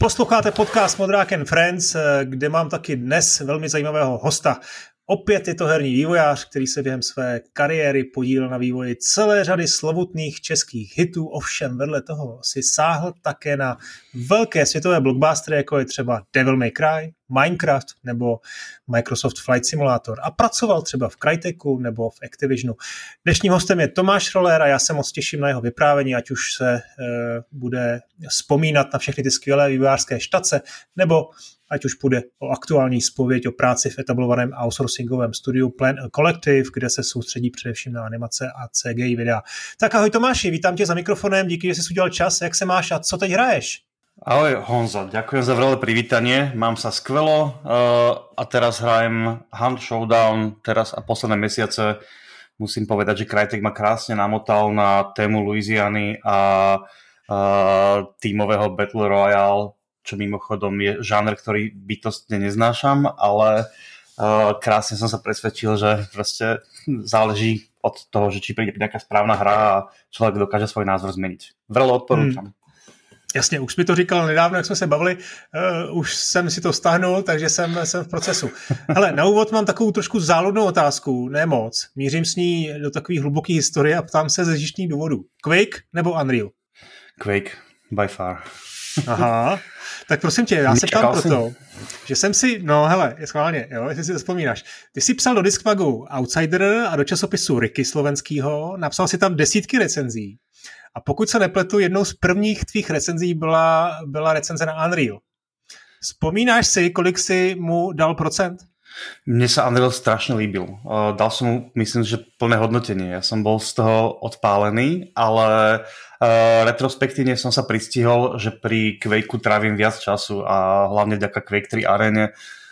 Posloucháte podcast Modrák and Friends, kde mám taky dnes velmi zajímavého hosta. Opět je to herní vývojář, který se během své kariéry podílel na vývoji celé řady slovutných českých hitů, ovšem vedle toho si sáhl také na velké světové blockbustery, jako je třeba Devil May Cry, Minecraft nebo Microsoft Flight Simulator a pracoval třeba v Cryteku nebo v Activisionu. Dnešním hostem je Tomáš Roller a já se moc těším na jeho vyprávění, ať už se bude vzpomínat na všechny ty skvělé vývojářské štace, nebo ať už půjde o aktuální zpověď o práci v etablovaném outsourcingovém studiu Plan a Collective, kde se soustředí především na animace a CGI videa. Tak ahoj Tomáši, vítám tě za mikrofonem, díky, že jsi udělal čas, jak se máš a co teď hraješ? Ahoj Honzo, ďakujem za veľké privítanie, mám sa skvelo a teraz hrajem Hunt Showdown, teraz a posledné mesiace musím povedať, že Crytek ma krásne namotal na tému Louisiany a tímového Battle Royale, čo mimochodom je žáner, ktorý bytostne neznášam, ale krásne som sa presvedčil, že proste záleží od toho, že či príde nejaká správna hra a človek dokáže svoj názor zmeniť. Vrelo odporúčam. Jasně, už mi to říkal nedávno, jak jsme se bavili, už jsem si to stáhnul, takže jsem v procesu. Hele, na úvod mám takovou trošku záludnou otázku, ne moc. Mířím s ní do takové hluboké historie a ptám se ze žištních důvodů. Quake nebo Unreal? Quake, by far. Aha, tak prosím tě, já se ptám proto, že jsem si, no hele, je schválně, jo, jestli si to vzpomínáš. Ty jsi psal do Discmagu Outsider a do časopisu Ricky slovenskýho, napsal si tam desítky recenzí. A pokud se nepletu, jednou z prvních tvých recenzí byla recenze na Unreal. Vzpomínáš si, kolik si mu dal procent? Mne sa Unreal strašne líbil. Dal som mu, myslím, že plné hodnotenie. Ja som bol z toho odpálený, ale retrospektívne som sa pristihol, že pri Quakeu trávim viac času a hlavne vďaka Quake 3 Arene,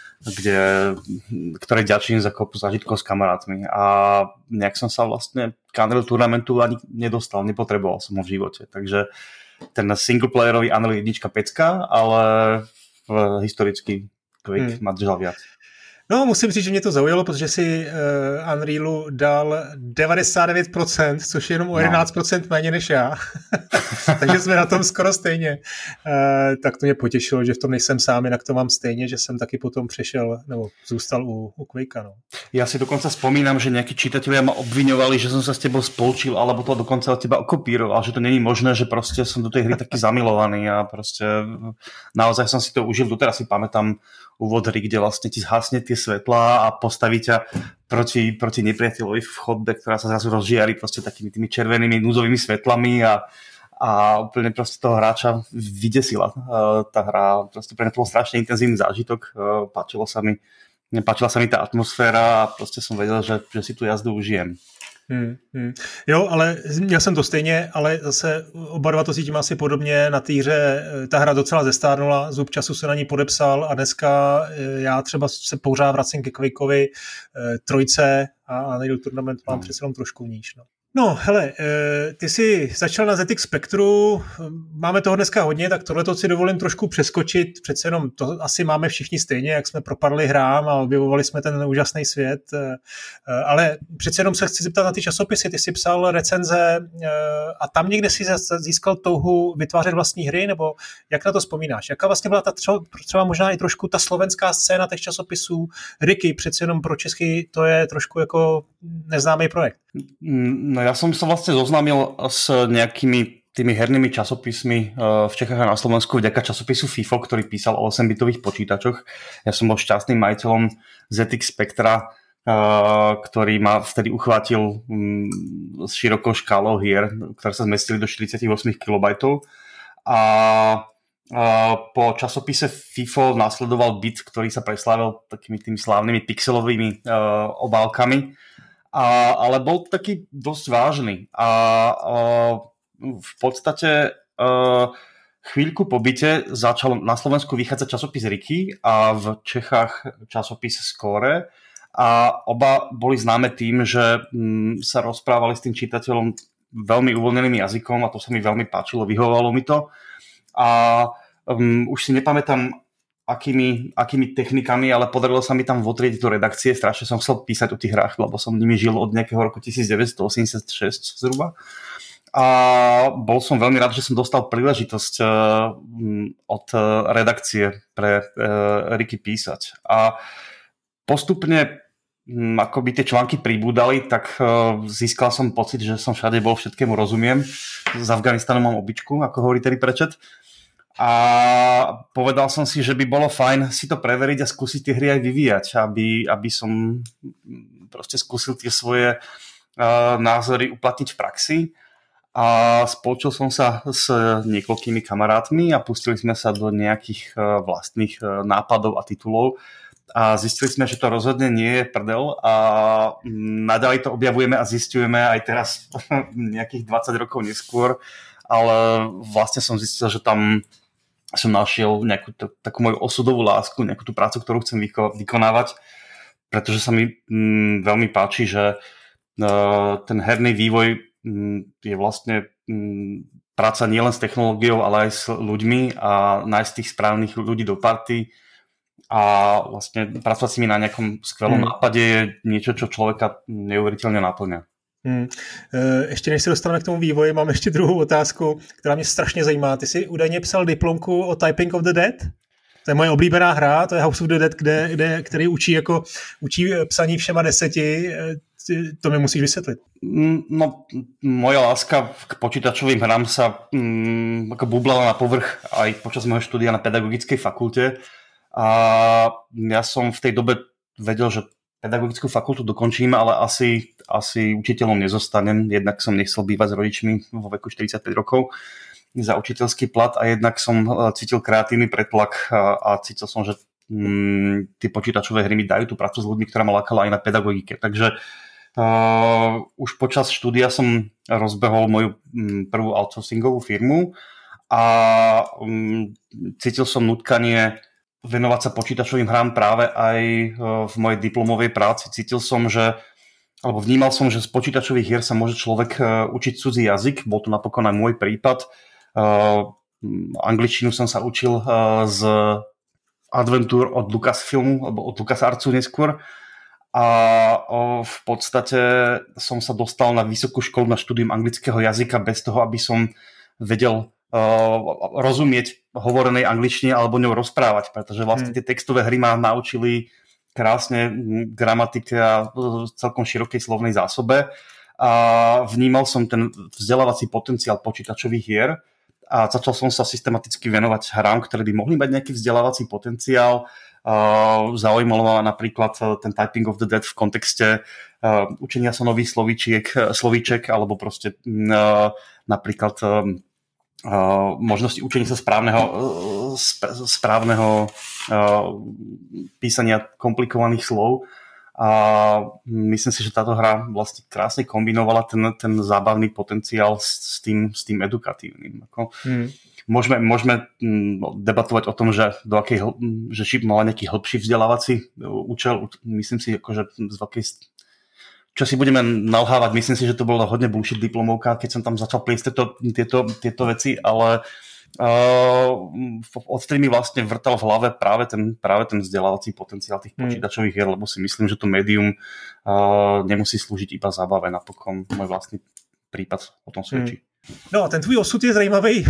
ktoré ďačím za kopu zážitkov s kamarátmi. A nejak som sa vlastne k Unreal Tournamentu ani nedostal, nepotreboval som ho v živote. Takže ten singleplayerový Unreal 1 pecka, ale historicky Quake ma držal viac. No, musím říct, že mě to zaujalo, protože si Unrealu dal 99%, což je jenom o 11% méně než já. Takže jsme na tom skoro stejně. Tak to mě potěšilo, že v tom nejsem sám, jinak to mám stejně, že jsem taky potom přešel, nebo zůstal u Quakea. No. Ja si dokonca spomínam, že nejakí čitatelia ma obviňovali, že som sa s tebou spolčil, alebo to dokonca od teba okopíroval, že to není možné, že proste som do tej hry taký zamilovaný a proste naozaj som si to užil. Doteraz si pamätám úvod hry, kde vlastne ti zhasne tie svetlá a postaví ťa proti nepriateľovi v chodbe, ktorá sa zrazu rozžiari proste takými tými červenými núdzovými svetlami a úplne proste toho hráča vydesila tá hra. Proste pre mňa to bol strašne intenzívny zážitok, páčila sa mi tá atmosféra a proste som vedel, že si tú jazdu užijem. Jo, ale měl jsem to stejně, ale zase oba dva to cítím asi podobně. Na té hře ta hra docela zestárnula, zub času se na ní podepsal a dneska já třeba se pořád vracím ke Quakeovi 3 a Unreal Tournament mám přece jenom trošku níž. No, hele, ty jsi začal na ZX Spectru, máme toho dneska hodně, tak tohleto si dovolím trošku přeskočit, přece jenom to asi máme všichni stejně, jak jsme propadli hrám a objevovali jsme ten úžasný svět, ale přece jenom se chci zeptat na ty časopisy, ty jsi psal recenze a tam někde si získal touhu vytvářet vlastní hry, nebo jak na to vzpomínáš? Jaká vlastně byla ta třeba možná i trošku ta slovenská scéna těch časopisů, Ricky, přece jenom pro Česky to je trošku jako neznámý projekt. No ja som sa vlastne zoznámil s nejakými tými hernými časopismi v Čechách a na Slovensku vďaka časopisu FIFO, ktorý písal o 8-bitových počítačoch. Ja som bol šťastným majiteľom ZX Spectra, ktorý ma vtedy uchvátil s širokou škálou hier, ktoré sa zmestili do 48 KB. A po časopise FIFO následoval Bit, ktorý sa preslávil takými tými slávnymi pixelovými obálkami. Ale bol taký dosť vážny a v podstate chvíľku po byte začal na Slovensku vychádzať časopis Ricky a v Čechách časopis Score a oba boli známe tým, že sa rozprávali s tým čitateľom veľmi uvoľneným jazykom a to sa mi veľmi páčilo, vyhovovalo mi to a už si nepamätám akými technikami, ale podarilo sa mi tam votrieť do redakcie. Strašne som chcel písať o tých hrách, lebo som nimi žil od nejakého roku 1986 zhruba. a bol som veľmi rád, že som dostal príležitosť od redakcie pre Riky písať. A postupne akoby tie články pribúdali, tak získal som pocit, že som všade bol, všetkému rozumiem. S Afganistanom mám običku, ako hovorí Terry Pratchett. A povedal som si, že by bolo fajn si to preveriť a skúsiť tie hry aj vyvíjať, aby som proste skúsil tie svoje názory uplatniť v praxi. A spolčil som sa s niekoľkými kamarátmi a pustili sme sa do nejakých vlastných nápadov a titulov a zistili sme, že to rozhodne nie je prdel a naďalej to objavujeme a zisťujeme aj teraz nejakých 20 rokov neskôr, ale vlastne som zistil, že tam som našiel nejakú takú moju osudovú lásku, nejakú tú prácu, ktorú chcem vykonávať, pretože sa mi veľmi páči, že ten herný vývoj je vlastne práca nielen s technológiou, ale aj s ľuďmi a nájsť tých správnych ľudí do party a vlastne pracovať s nimi na nejakom skvelom nápade je niečo, čo človeka neuvěřitelně naplňa. Ještě než se dostaneme k tomu vývoji, mám ještě druhou otázku, která mě strašně zajímá. Ty jsi údajně psal diplomku o Typing of the Dead? To je moje oblíbená hra, to je House of the Dead, který učí psaní všema 10. To mi musíš vysvětlit. No, moja láska k počítačovým hrám sa ako bublala na povrch aj počas môjho štúdia na pedagogickej fakulte. A ja som v tej dobe vedel, že pedagogickú fakultu dokončím, ale asi učiteľom nezostanem. Jednak som nechcel bývať s rodičmi vo veku 45 rokov za učiteľský plat a jednak som cítil kreatívny pretlak a cítil som, že tie počítačové hry mi dajú tú prácu s ľuďmi, ktorá ma lákala aj na pedagogike. Takže už počas štúdia som rozbehol moju prvú outsourcingovú firmu a cítil som nutkanie venovať sa počítačovým hrám práve aj v mojej diplomovej práci. Vnímal som, že z počítačových hier sa môže človek učiť cudzí jazyk. Bol to napokon aj môj prípad. Angličtinu som sa učil z Adventure od Lucasfilmu, alebo od LucasArtsu neskôr. A v podstate som sa dostal na vysokú školu na štúdium anglického jazyka bez toho, aby som vedel rozumieť hovorenej angličtine alebo ňou rozprávať, pretože vlastne tie textové hry ma naučili krásne gramatike a celkom širokej slovnej zásobe a vnímal som ten vzdelávací potenciál počítačových hier a začal som sa systematicky venovať hrám, ktoré by mohli mať nejaký vzdelávací potenciál. Zaujímalo ma napríklad ten Typing of the Dead v kontexte učenia sa nových slovíček alebo proste napríklad možnosti učenia sa správneho písania komplikovaných slov a myslím si, že táto hra vlastne krásne kombinovala ten zábavný potenciál s tým edukatívnym. Môžeme debatovať o tom, že šip mala nejaký hĺbší vzdelávací účel. Myslím si, že z veľkej čo si budeme nalhávať, myslím si, že to bola hodne bullshit diplomovka, keď som tam začal pliesť tieto veci, ale odtedy mi vlastne vrtal v hlave práve ten vzdelávací potenciál tých počítačových hier, lebo si myslím, že to médium nemusí slúžiť iba zábave, napokon môj vlastný prípad o tom svedčí. No a ten tvůj osud je zajímavý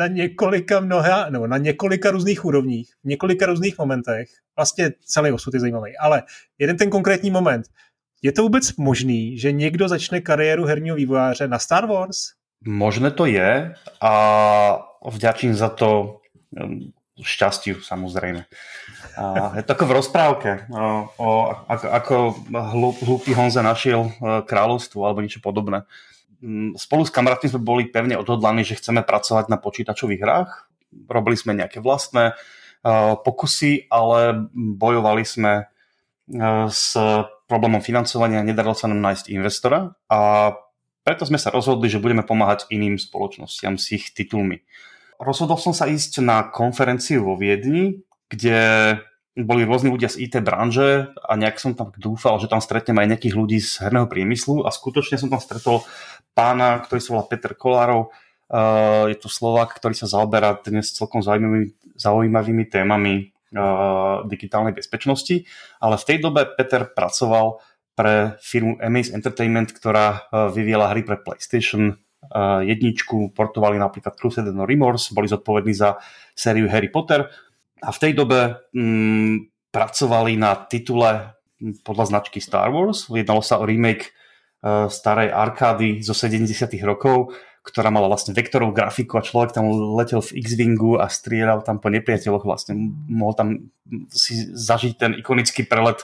na několika různých úrovních, v několika různých momentech. Vlastně celý osud je zajímavý, ale jeden ten konkrétní moment. Je to vůbec možný, že někdo začne kariéru herního vývojáře na Star Wars? Možné to je a vďačím za to šťastiu, samozrejme. Je to ako v rozprávke, ako hlúpy Honza našiel kráľovstvo alebo niečo podobné. Spolu s kamarátmi sme boli pevne odhodlaní, že chceme pracovať na počítačových hrách. Robili sme nejaké vlastné pokusy, ale bojovali sme s problémom financovania, nedarilo sa nám nájsť investora a preto sme sa rozhodli, že budeme pomáhať iným spoločnostiam s ich titulmi. Rozhodol som sa ísť na konferenciu vo Viedni, kde boli rôzni ľudia z IT branže a nejak som tam dúfal, že tam stretnem aj nejakých ľudí z herného priemyslu a skutočne som tam stretol pána, ktorý sa volá Peter Kolárov. Je to Slovák, ktorý sa zaoberá dnes celkom zaujímavými témami digitálnej bezpečnosti, ale v tej dobe Peter pracoval pre firmu Amaze Entertainment, ktorá vyvíjala hry pre PlayStation jedničku, portovali napríklad Crusade No Remorse, boli zodpovední za sériu Harry Potter a v tej dobe pracovali na titule podľa značky Star Wars. Jednalo sa o remake starej arkády zo 70. rokov, ktorá mala vlastne vektorovú grafiku a človek tam letel v X-Wingu a strieľal tam po nepriateľoch, vlastne mohol tam si zažiť ten ikonický prelet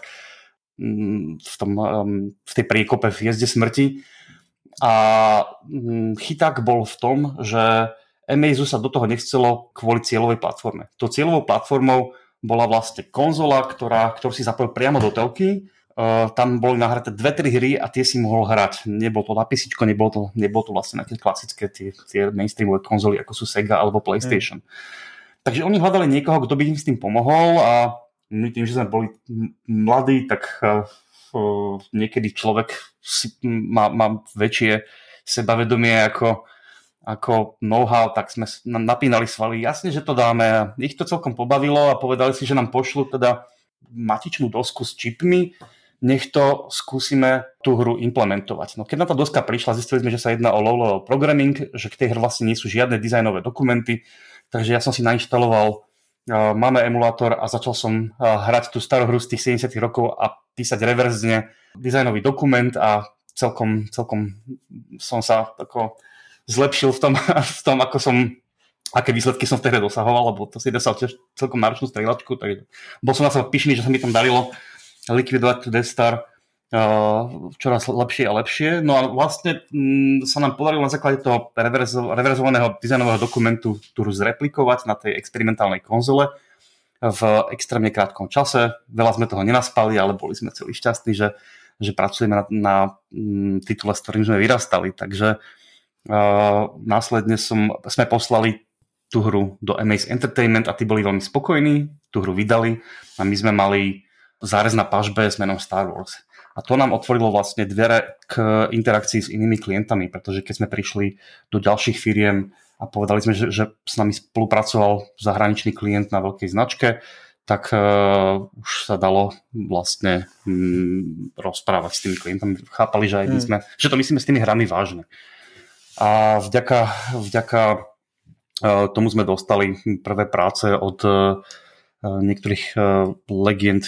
v tej priekope v Jezde smrti. A chyták bol v tom, že Amazu sa do toho nechcelo kvôli cieľovej platforme. Tou cieľovou platformou bola vlastne konzola, ktorú si zapojil priamo do telky. Tam boli nahraté 2-3 hry a tie si mohol hrať. Nebolo to na písičko, nebolo to vlastne na tie klasické tie mainstreamové konzoly, ako sú Sega alebo PlayStation. Takže oni hľadali niekoho, kto by im s tým pomohol a my tým, že sme boli mladí, tak niekedy človek má väčšie sebavedomie ako know-how, tak sme napínali svaly. Jasne, že to dáme. Ich to celkom pobavilo a povedali si, že nám pošlu teda matičnú dosku s čipmi, nech to skúsime tú hru implementovať. No keď na tá doska prišla, zistili sme, že sa jedná o low-level programming, že k tej hre vlastne nie sú žiadne dizajnové dokumenty, takže ja som si nainštaloval máme emulátor a začal som hrať tú starú hru z tých 70 rokov a písať reverzne dizajnový dokument a celkom som sa tako zlepšil v tom, aké výsledky som v tej hre dosahoval, lebo to si dosal tiež celkom náročnú strieľačku, takže bol som na seba pyšný, že sa mi tam darilo likvidovať tú Death Star čoraz lepšie a lepšie. No a vlastne sa nám podarilo na základe toho reverzovaného dizajnového dokumentu tú hru zreplikovať na tej experimentálnej konzole v extrémne krátkom čase. Veľa sme toho nenaspali, ale boli sme celí šťastní, že pracujeme na titule, s ktorým sme vyrastali. Takže následne sme poslali tú hru do Amaze Entertainment a tí boli veľmi spokojní, tú hru vydali a my sme mali zárez na pažbe s menom Star Wars. A to nám otvorilo vlastne dvere k interakcii s inými klientami, pretože keď sme prišli do ďalších firiem a povedali sme, že s nami spolupracoval zahraničný klient na veľkej značke, tak už sa dalo vlastne rozprávať s tými klientami. Chápali, že aj my sme, že to myslíme s tými hrami vážne. A vďaka tomu sme dostali prvé práce od niektorých legend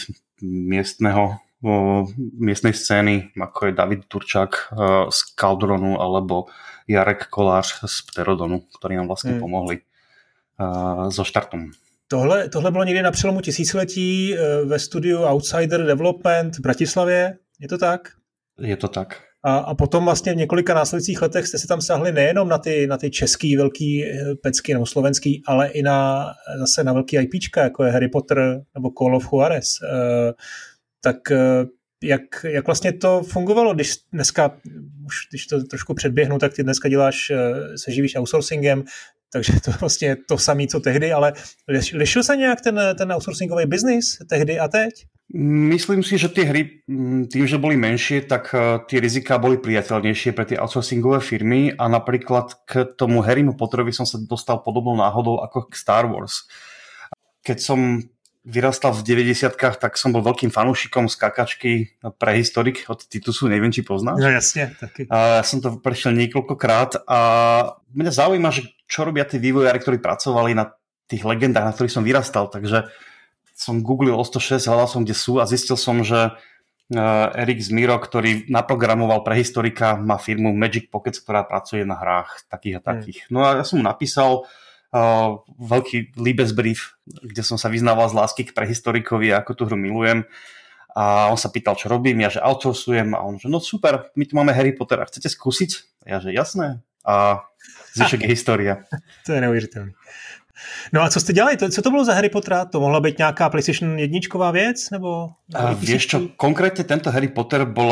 miestnej scény, ako je David Turčák z Caldronu alebo Jarek Kolář z Pterodonu, ktorí nám vlastne pomohli so štartom. Tohle bylo někdy na přelomu tisíciletí ve studiu Outsider Development v Bratislavě, je to tak? Je to tak. A potom vlastně v několika následujících letech jste si tam sáhli nejenom na ty český velký pecky nebo slovenský, ale i zase na velký IPčka, jako je Harry Potter nebo Call of Juarez. Tak jak vlastně to fungovalo, když dneska, už když to trošku předběhnu, tak ty dneska se živíš outsourcingem, takže to vlastně to samé, co tehdy, ale lišil se nějak ten outsourcingový biznis tehdy a teď? Myslím si, že tie hry, tým, že boli menšie, tak tie riziká boli priateľnejšie pre tie outsourcingové firmy a napríklad k tomu Harrymu Potterovi som sa dostal podobnou náhodou ako k Star Wars. Keď som vyrastal v 90-kách, tak som bol veľkým fanúšikom skákačky Prehistorik od Titusu, neviem, či poznáš. No jasne, taky. Ja som to prešiel niekoľkokrát a mňa zaujíma, že čo robia tí vývojári, ktorí pracovali na tých legendách, na ktorých som vyrastal, takže som googlil o 106, hľadal som, kde sú a zistil som, že Erik Zmiro, ktorý naprogramoval Prehistorika, má firmu Magic Pockets, ktorá pracuje na hrách takých a takých. No a ja som mu napísal veľký Liebesbrief, kde som sa vyznával z lásky k Prehistorikovi a ako tú hru milujem. A on sa pýtal, čo robím, ja že outsourcujem a on že no super, my tu máme Harry Pottera, chcete skúsiť? Ja že jasné. A zvyšok je história. To je neuvěřitelné. No a co jste dělali? Co to bylo za Harry Pottera? To mohla být nějaká PlayStation 1 věc? Nebo vieš čo, konkrétne tento Harry Potter bol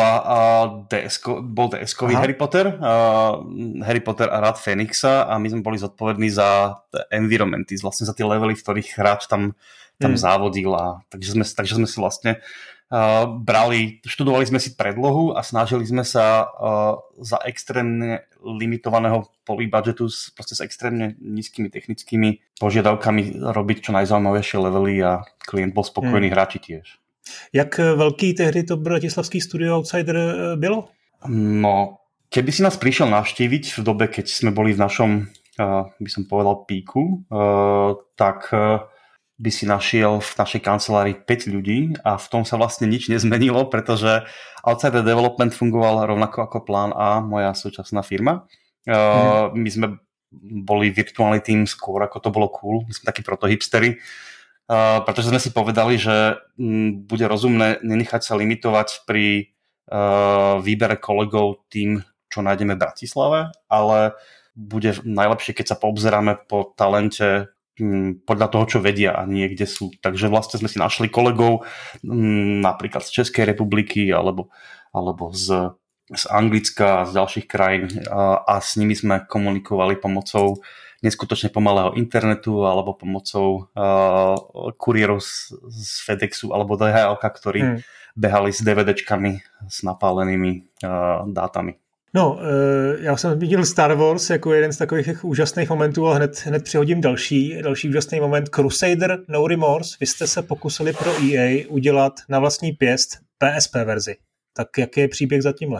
DS-kový Harry Potter. Harry Potter a Rád Fénixa a my sme boli zodpovední za environmenty, vlastne za tie levely, v ktorých hráč tam závodil. Takže sme si vlastne študovali sme si predlohu a snažili sme sa za extrémne limitovaného polybudgetu proste s extrémne nízkymi technickými požiadavkami robiť čo najzaujímavejšie levely a klient bol spokojný, hráči tiež. Jak velký tehdy to bratislavský studio Outsider bylo? No, Keby si nás prišiel navštíviť v dobe, keď sme boli v našom, by som povedal, píku, tak by si našiel v našej kancelárii 5 ľudí a v tom sa vlastne nič nezmenilo, pretože Outsider Development fungoval rovnako ako Plán A, moja súčasná firma. My sme boli virtuálny tým skôr, ako to bolo cool. My sme takí protohipstery, pretože sme si povedali, že bude rozumné nenechať sa limitovať pri výbere kolegov tým, čo nájdeme v Bratislave, ale bude najlepšie, keď sa poobzeráme po talente podľa toho, čo vedia a nie kde sú. Takže vlastne sme si našli kolegov napríklad z Českej republiky alebo z Anglicka a z ďalších krajín a s nimi sme komunikovali pomocou neskutočne pomalého internetu alebo pomocou kuriérov z FedExu alebo DHL-ka, ktorí behali s DVDčkami s napálenými dátami. No, já jsem viděl Star Wars jako jeden z takových úžasných momentů, ale hned přihodím další úžasný moment. Crusader No Remorse. Vy jste se pokusili pro EA udělat na vlastní pěst PSP verzi. Tak jaký je příběh za tímhle?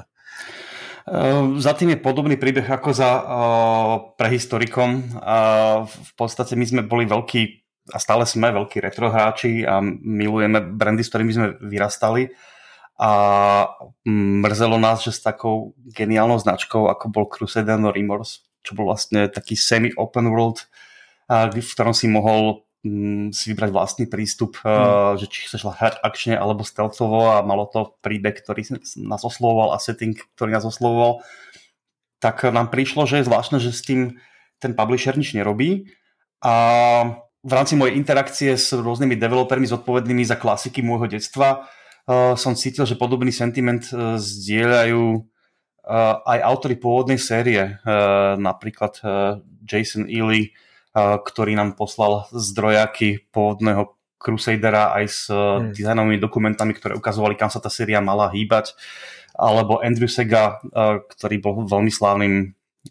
Za tým je podobný príbeh ako za prehistorikom. V podstate my sme boli veľkí a stále sme veľkí retrohráči a milujeme brandy, s ktorými sme vyrastali. A mrzelo nás, že s takou geniálnou značkou, ako bol Crusader No Remorse, čo bol vlastne taký semi-open world, v ktorom si mohol si vybrať vlastný prístup, že či chceš hrať akčne alebo stealthovo a malo to príbeh, ktorý nás oslovoval a setting, ktorý nás oslovoval, tak nám prišlo, že je zvláštne, že s tým ten publisher nič nerobí a v rámci mojej interakcie s rôznymi developermi zodpovednými za klasiky môjho detstva som cítil, že podobný sentiment zdieľajú aj autori pôvodnej série, napríklad Jason Ely, ktorý nám poslal zdrojáky pôvodného Crusadera aj s dizajnovými dokumentami, ktoré ukazovali, kam sa tá séria mala hýbať, alebo Andrew Sega, ktorý bol veľmi slávnym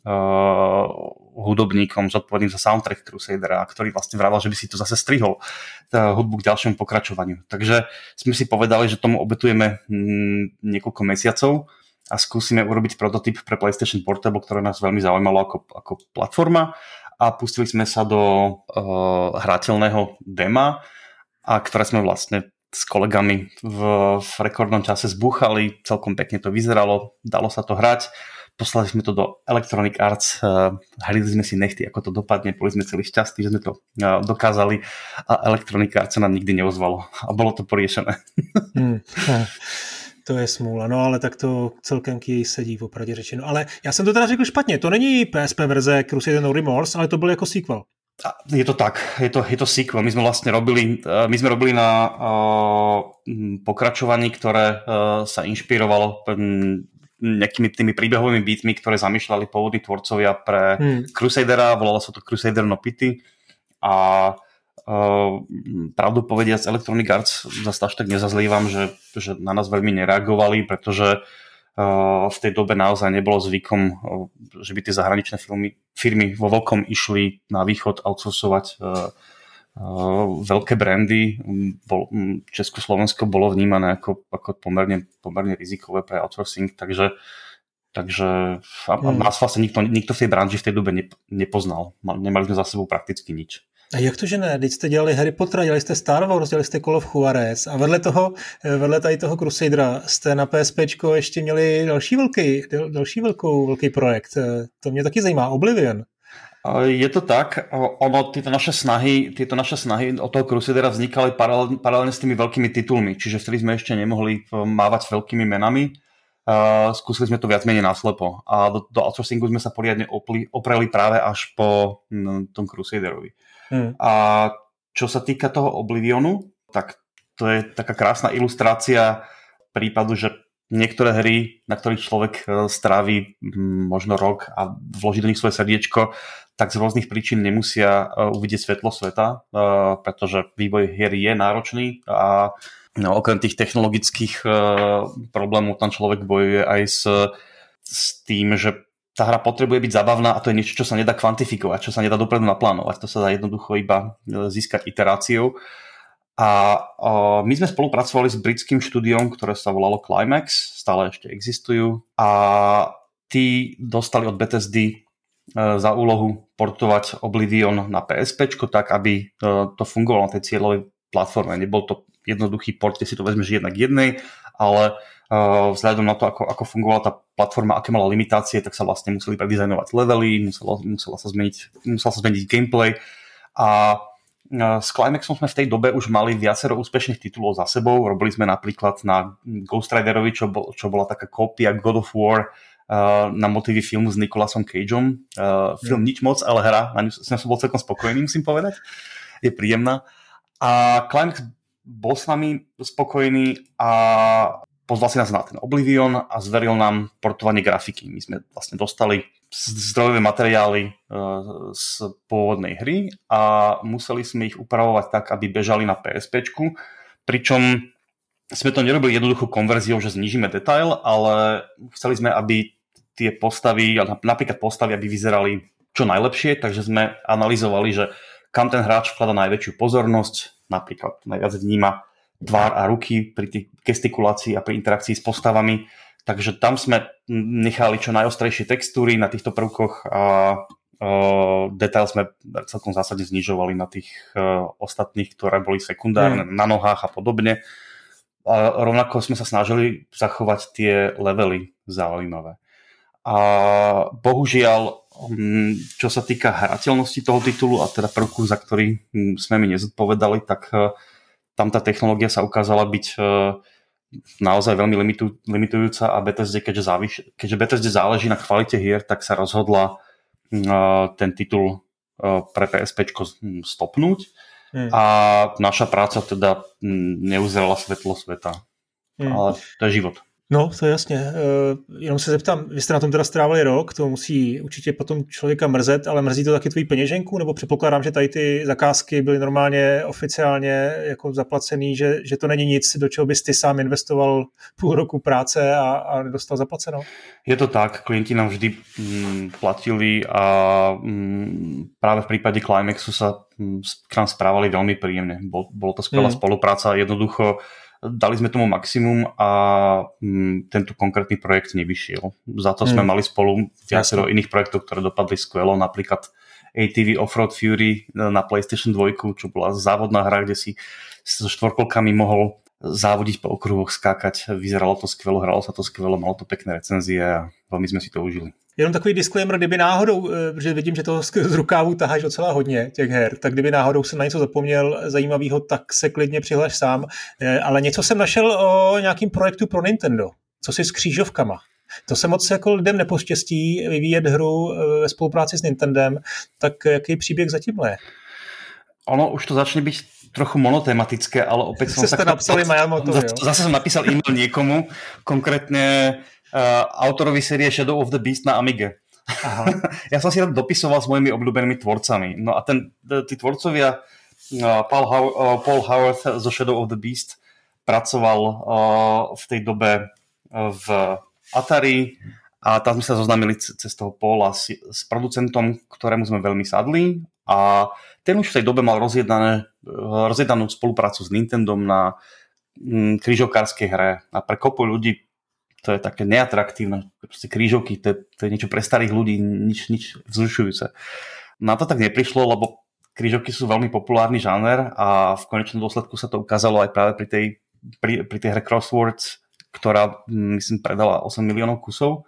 hudobníkom zodpovedným za soundtrack Crusadera, ktorý vlastne vravel, že by si to zase strihol hudbu k ďalšiemu pokračovaniu. Takže sme si povedali, že tomu obetujeme niekoľko mesiacov a skúsime urobiť prototyp pre PlayStation Portable, ktoré nás veľmi zaujímalo ako platforma a pustili sme sa do hrateľného dema, a ktoré sme vlastne s kolegami v rekordnom čase zbúchali, celkom pekne to vyzeralo, dalo sa to hrať. Poslali sme to do Electronic Arts, hrali sme si nechty, ako to dopadne, boli sme celí šťastní, že sme to dokázali a Electronic Arts sa nám nikdy neozvalo a bolo to poriešené. To je smůla, no ale tak to celkem k jej sedí, opravdu řečeno. Ale já jsem to teda řekl špatně, to není PSP verze Crusader No Remorse, ale to byl jako sequel. Je to tak, je to sequel. My sme vlastne robili na pokračovaní, ktoré sa inšpirovalo nejakými tými príbehovými bitmi, ktoré zamýšľali pôvodní tvorcovia pre Crusadera, volalo sa to Crusader No Pity a pravdu povediac Electronic Arts zase až tak nezazlievam, že na nás veľmi nereagovali, pretože v tej dobe naozaj nebolo zvykom, že by tie zahraničné firmy vo veľkom išli na východ outsourcovať veľké brandy. Československo bolo vnímané ako pomerne rizikové pre outsourcing, takže nás vlastne nikto v tej branži v tej dobe nepoznal. Nemali sme za sebou prakticky nič. A jak to, že ne? Teď jste dělali Harry Pottera, dělali jste Star Wars, dělali jste Call of Juarez a vedle tady toho Crusadera jste na PSPčko ještě měli další velký projekt. To mě taky zajímá, Oblivion. Je to tak, tieto naše snahy od toho Crusadera vznikali paralelne s tými veľkými titulmi, čiže vtedy sme ešte nemohli mávať veľkými menami. Skúsili sme to viac menej naslepo a do outsourcingu sme sa poriadne opreli práve až po tom Crusaderovi. A čo sa týka toho Oblivionu, tak to je taká krásna ilustrácia prípadu, že niektoré hry, na ktorých človek stráví možno rok a vloží do nich svoje srdiečko, tak z rôznych príčin nemusia uvidieť svetlo sveta, pretože vývoj hier je náročný a okrem tých technologických problémov tam človek bojuje aj s tým, že tá hra potrebuje byť zabavná a to je niečo, čo sa nedá kvantifikovať, čo sa nedá dopredu naplánovať. To sa dá jednoducho iba získať iteráciou. A my sme spolupracovali s britským štúdiom, ktoré sa volalo Climax, stále ešte existujú a tí dostali od Bethesdy za úlohu portovať Oblivion na PSPčko tak, aby to fungovalo na tej cieľovej platforme. Nebol to jednoduchý port, kde si to vezmeš jednak jednej, ale vzhľadom na to, ako fungovala tá platforma, aké mala limitácie, tak sa vlastne museli predizajnovať levely, musel sa zmeniť gameplay a s Climaxom sme v tej dobe už mali viacero úspešných titulov za sebou. Robili sme napríklad na Ghost Riderovi, čo bola taká kópia God of War na motívy filmu s Nicolasom Cageom. Film nič moc, ale hra, na ňu som bol celkom spokojný, musím povedať. Je príjemná. A Climax bol s nami spokojný a pozval si nás na ten Oblivion a zveril nám portovanie grafiky. My sme vlastne dostali zdrojové materiály z pôvodnej hry a museli sme ich upravovať tak, aby bežali na PSPčku, pričom sme to nerobili jednoduchou konverziou, že znížime detail, ale chceli sme, aby tie postavy, napríklad postavy, aby vyzerali čo najlepšie, takže sme analyzovali, že kam ten hráč vklada najväčšiu pozornosť, napríklad najviac vníma tvár a ruky pri tých gestikulácii a pri interakcii s postavami. Takže tam sme nechali čo najostrejšie textúry na týchto prvkoch a detail sme celkom zásadne znižovali na tých ostatných, ktoré boli sekundárne, na nohách a podobne. A rovnako sme sa snažili zachovať tie levely zaujímavé. A bohužiaľ, čo sa týka hrateľnosti toho titulu a teda prvku, za ktorý sme mi nezodpovedali, tak tam tá technológia sa ukázala byť naozaj veľmi limitujúca a Bethesde, keďže Bethesde záleží na kvalite hier, tak sa rozhodla ten titul pre PSPčko stopnúť a naša práca teda neuzrela svetlo sveta. Ale to je život. No, to je jasně. Jenom se zeptám, vy jste na tom teda strávili rok, to musí určitě potom člověka mrzet, ale mrzí to taky tvoji peněženku, nebo předpokládám, že tady ty zakázky byly normálně oficiálně jako zaplacený, že to není nic, do čeho bys ty sám investoval půl roku práce a dostal zaplaceno? Je to tak, klienti nám vždy platili a práve v prípade Climaxu sa k nám správali veľmi príjemne. Bolo to skvelá spolupráca, jednoducho dali sme tomu maximum a tento konkrétny projekt nevyšiel. Za to sme mali spolu viacero iných projektov, ktoré dopadli skvelo, napríklad ATV Offroad Fury na PlayStation 2, čo bola závodná hra, kde si so štvorkolkami mohol závodiť po okruhoch, skákať. Vyzeralo to skvelo, hralo sa to skvelo, malo to pekné recenzie a veľmi sme si to užili. Jenom takový disclaimer, kdyby náhodou, že vidím, že toho z rukávu taháš docela hodně těch her, tak kdyby náhodou jsem na něco zapomněl zajímavého, tak se klidně přihlaš sám. Ale něco jsem našel o nějakým projektu pro Nintendo. Co si s křížovkama? To se moc jako lidem nepoštěstí vyvíjet hru ve spolupráci s Nintendem, tak jaký příběh zatímhle je? Ono už to začne byť trochu monotematické, ale opäť som sa napsali Miyamoto, zase som napísal e-mail niekomu, konkrétne autorovi série Shadow of the Beast na Amige. Aha. Ja som si tam dopisoval s mojimi obľúbenými tvorcami. No a tí tvorcovia, Paul Howard zo Shadow of the Beast pracoval v tej dobe v Atari a tam sme sa zoznámili cez toho Paula s producentom, ktorému sme veľmi sadli a ten už v tej dobe mal rozjednanú spoluprácu s Nintendom na krížovkárskej hre a pre kopu ľudí to je také neatraktívne. Proste krížovky, to je niečo pre starých ľudí, nič vzrušujúce. Na to tak neprišlo, lebo krížovky sú veľmi populárny žáner a v konečnom dôsledku sa to ukázalo aj práve pri tej hre Crosswords, ktorá, myslím, predala 8 miliónov kusov.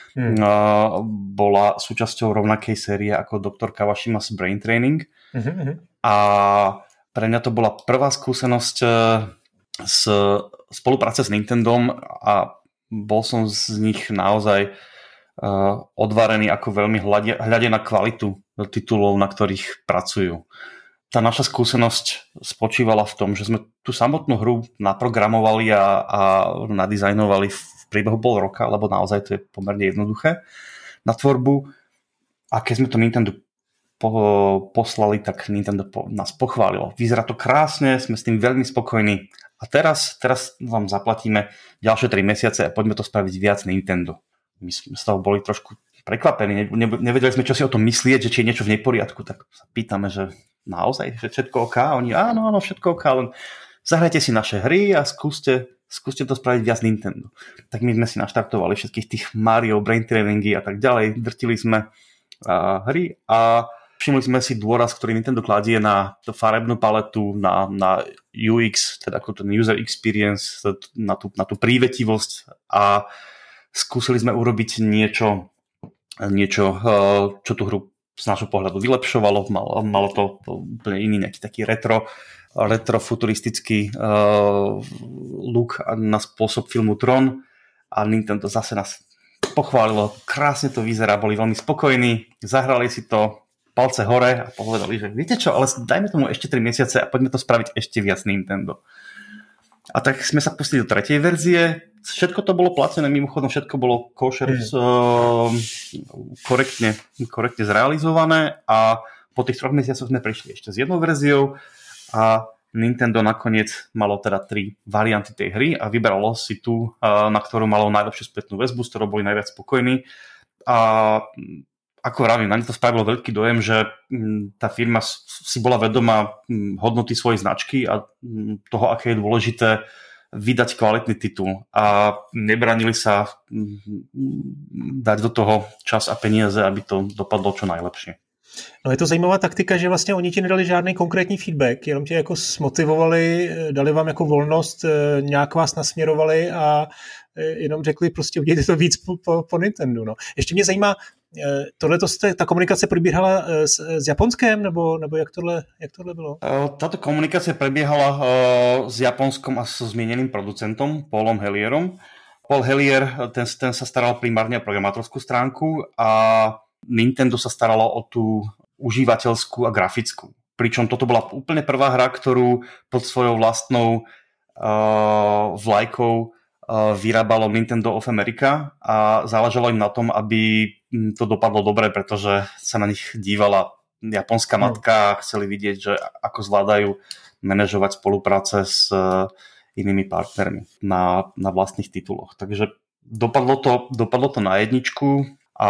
Bola súčasťou rovnakej série ako Dr. Kawashima's Brain Training. A pre mňa to bola prvá skúsenosť z spolupráce s Nintendom a bol som z nich naozaj odvarený, ako veľmi hľadia na kvalitu titulov, na ktorých pracujú. Tá naša skúsenosť spočívala v tom, že sme tú samotnú hru naprogramovali a nadizajnovali v priebehu pol roka, lebo naozaj to je pomerne jednoduché na tvorbu. A keď sme to Nintendo poslali, tak Nintendo nás pochválilo. Vyzerá to krásne, sme s tým veľmi spokojní. A teraz vám zaplatíme ďalšie 3 mesiace a poďme to spraviť viac Nintendo. My sme z toho boli trošku prekvapení, nevedeli sme, čo si o tom myslieť, že či je niečo v neporiadku, tak sa pýtame, že naozaj, že všetko OK? A oni, áno, všetko OK, len zahrajte si naše hry a skúste skúste to spraviť viac Nintendo. Tak my sme si naštartovali všetkých tých Mario, Brain Trainingy a tak ďalej, drtili sme hry a všimli sme si dôraz, ktorý Nintendo kladie na farebnú paletu, na UX, teda ako ten user experience, na tú prívetivosť a skúsili sme urobiť niečo, čo tú hru z nášho pohľadu vylepšovalo. Malo to úplne iný nejaký taký retro futuristický look na spôsob filmu Tron a Nintendo zase nás pochválilo, krásne to vyzerá, boli veľmi spokojní, zahrali si to, palce hore a povedali, že viete čo, ale dajme tomu ešte 3 mesiace a poďme to spraviť ešte viac Nintendo. A tak sme sa pustili do 3. verzie, všetko to bolo platené, mimochodom všetko bolo kosher, korektne zrealizované a po tých 3 mesiacoch sme prišli ešte s 1 verziou a Nintendo nakoniec malo teda 3 varianty tej hry a vyberalo si tú, na ktorú malo najlepšiu spätnú väzbu, s ktorou boli najviac spokojní. A ako vravím, na mňa to spravilo veľký dojem, že tá firma si bola vedomá hodnoty svojej značky a toho, aké je dôležité vydať kvalitný titul a nebranili sa dať do toho čas a peniaze, aby to dopadlo čo najlepšie. No je to zajímavá taktika, že vlastně oni ti nedali žádný konkrétní feedback, jenom tě jako smotivovali, dali vám jako volnost, nějak vás nasměrovali a jenom řekli prostě udějte to víc po Nintendo. No. Ještě mě zajímá, ta komunikace probíhala s Japonskem, nebo jak tohle bylo? Táto komunikácia prebiehala s Japonskom a so zmieneným producentom Paulom Hellierom. Paul Hellier, ten sa staral primárne o programátorskú stránku a Nintendo sa staralo o tú užívateľskú a grafickú. Pričom toto bola úplne prvá hra, ktorú pod svojou vlastnou vlajkou vyrábalo Nintendo of America a záležalo im na tom, aby to dopadlo dobre, pretože sa na nich dívala japonská matka a chceli vidieť, že ako zvládajú manažovať spolupráce s inými partnermi na vlastných tituloch. Takže dopadlo to na 1 a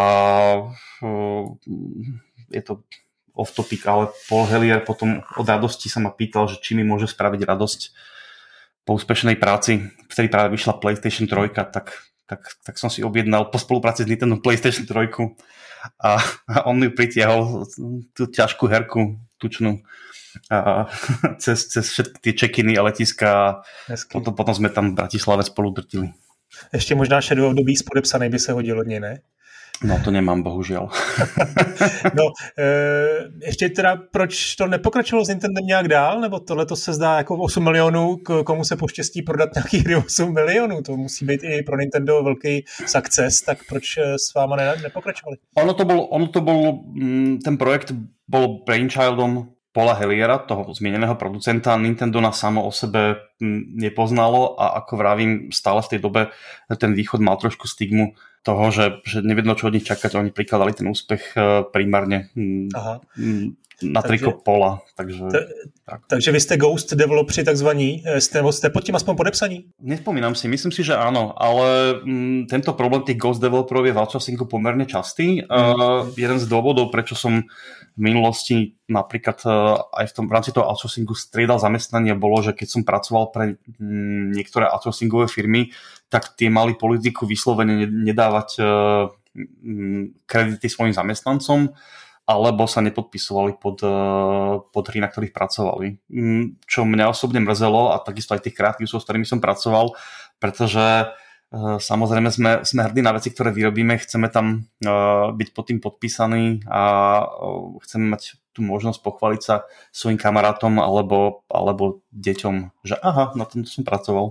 je to off topic, ale Paul Hellier potom od radosti sa ma pýtal, že či mi môže spraviť radosť po úspešnej práci, vtedy práve vyšla PlayStation 3, tak som si objednal po spolupráci s Nintendo PlayStation 3 a on mi pritiahol tú ťažkú herku, tučnú, cez všetky tie check-iny a letiska a potom sme tam v Bratislave spolu drtili. Ještě možná Shadow of the Beast podepsaný by se hodil od něj, ne? No to nemám, bohužel. No, ještě teda, proč to nepokračovalo s Nintendem nějak dál? Nebo tohle to se zdá jako 8 milionů, komu se poštěstí prodat nějaký hry 8 milionů? To musí být i pro Nintendo velký success, tak proč s váma nepokračovali? Ono to bol ten projekt bol brainchildom Paula Helliera, toho zmieneného producenta. Nintendo nás samo o sebe nepoznalo a ako vravím, stále v tej dobe ten východ mal trošku stigmu toho, že nevedno, čo od nich čakať. Oni prikladali ten úspech primárne na triko Paula. Takže vy ste Ghost developeri takzvaní, ste pod tým aspoň podepsaní? Nespomínam si, myslím si, že áno, ale tento problém tých Ghost developerov je v outsourcingu pomerne častý. Jeden z dôvodov, prečo som v minulosti napríklad aj v rámci toho outsourcingu striedal zamestnanie, bolo, že keď som pracoval pre niektoré outsourcingové firmy, tak tie mali politiku vyslovene nedávať kredity svojim zamestnancom, alebo sa nepodpisovali pod hry, na ktorých pracovali. Čo mňa osobne mrzelo a takisto aj tých kreatívcov, s ktorými som pracoval, pretože samozrejme sme hrdí na veci, ktoré vyrobíme, chceme tam byť pod tým podpísaní a chceme mať tú možnosť pochváliť sa svojim kamarátom alebo deťom, že aha, na tomto som pracoval.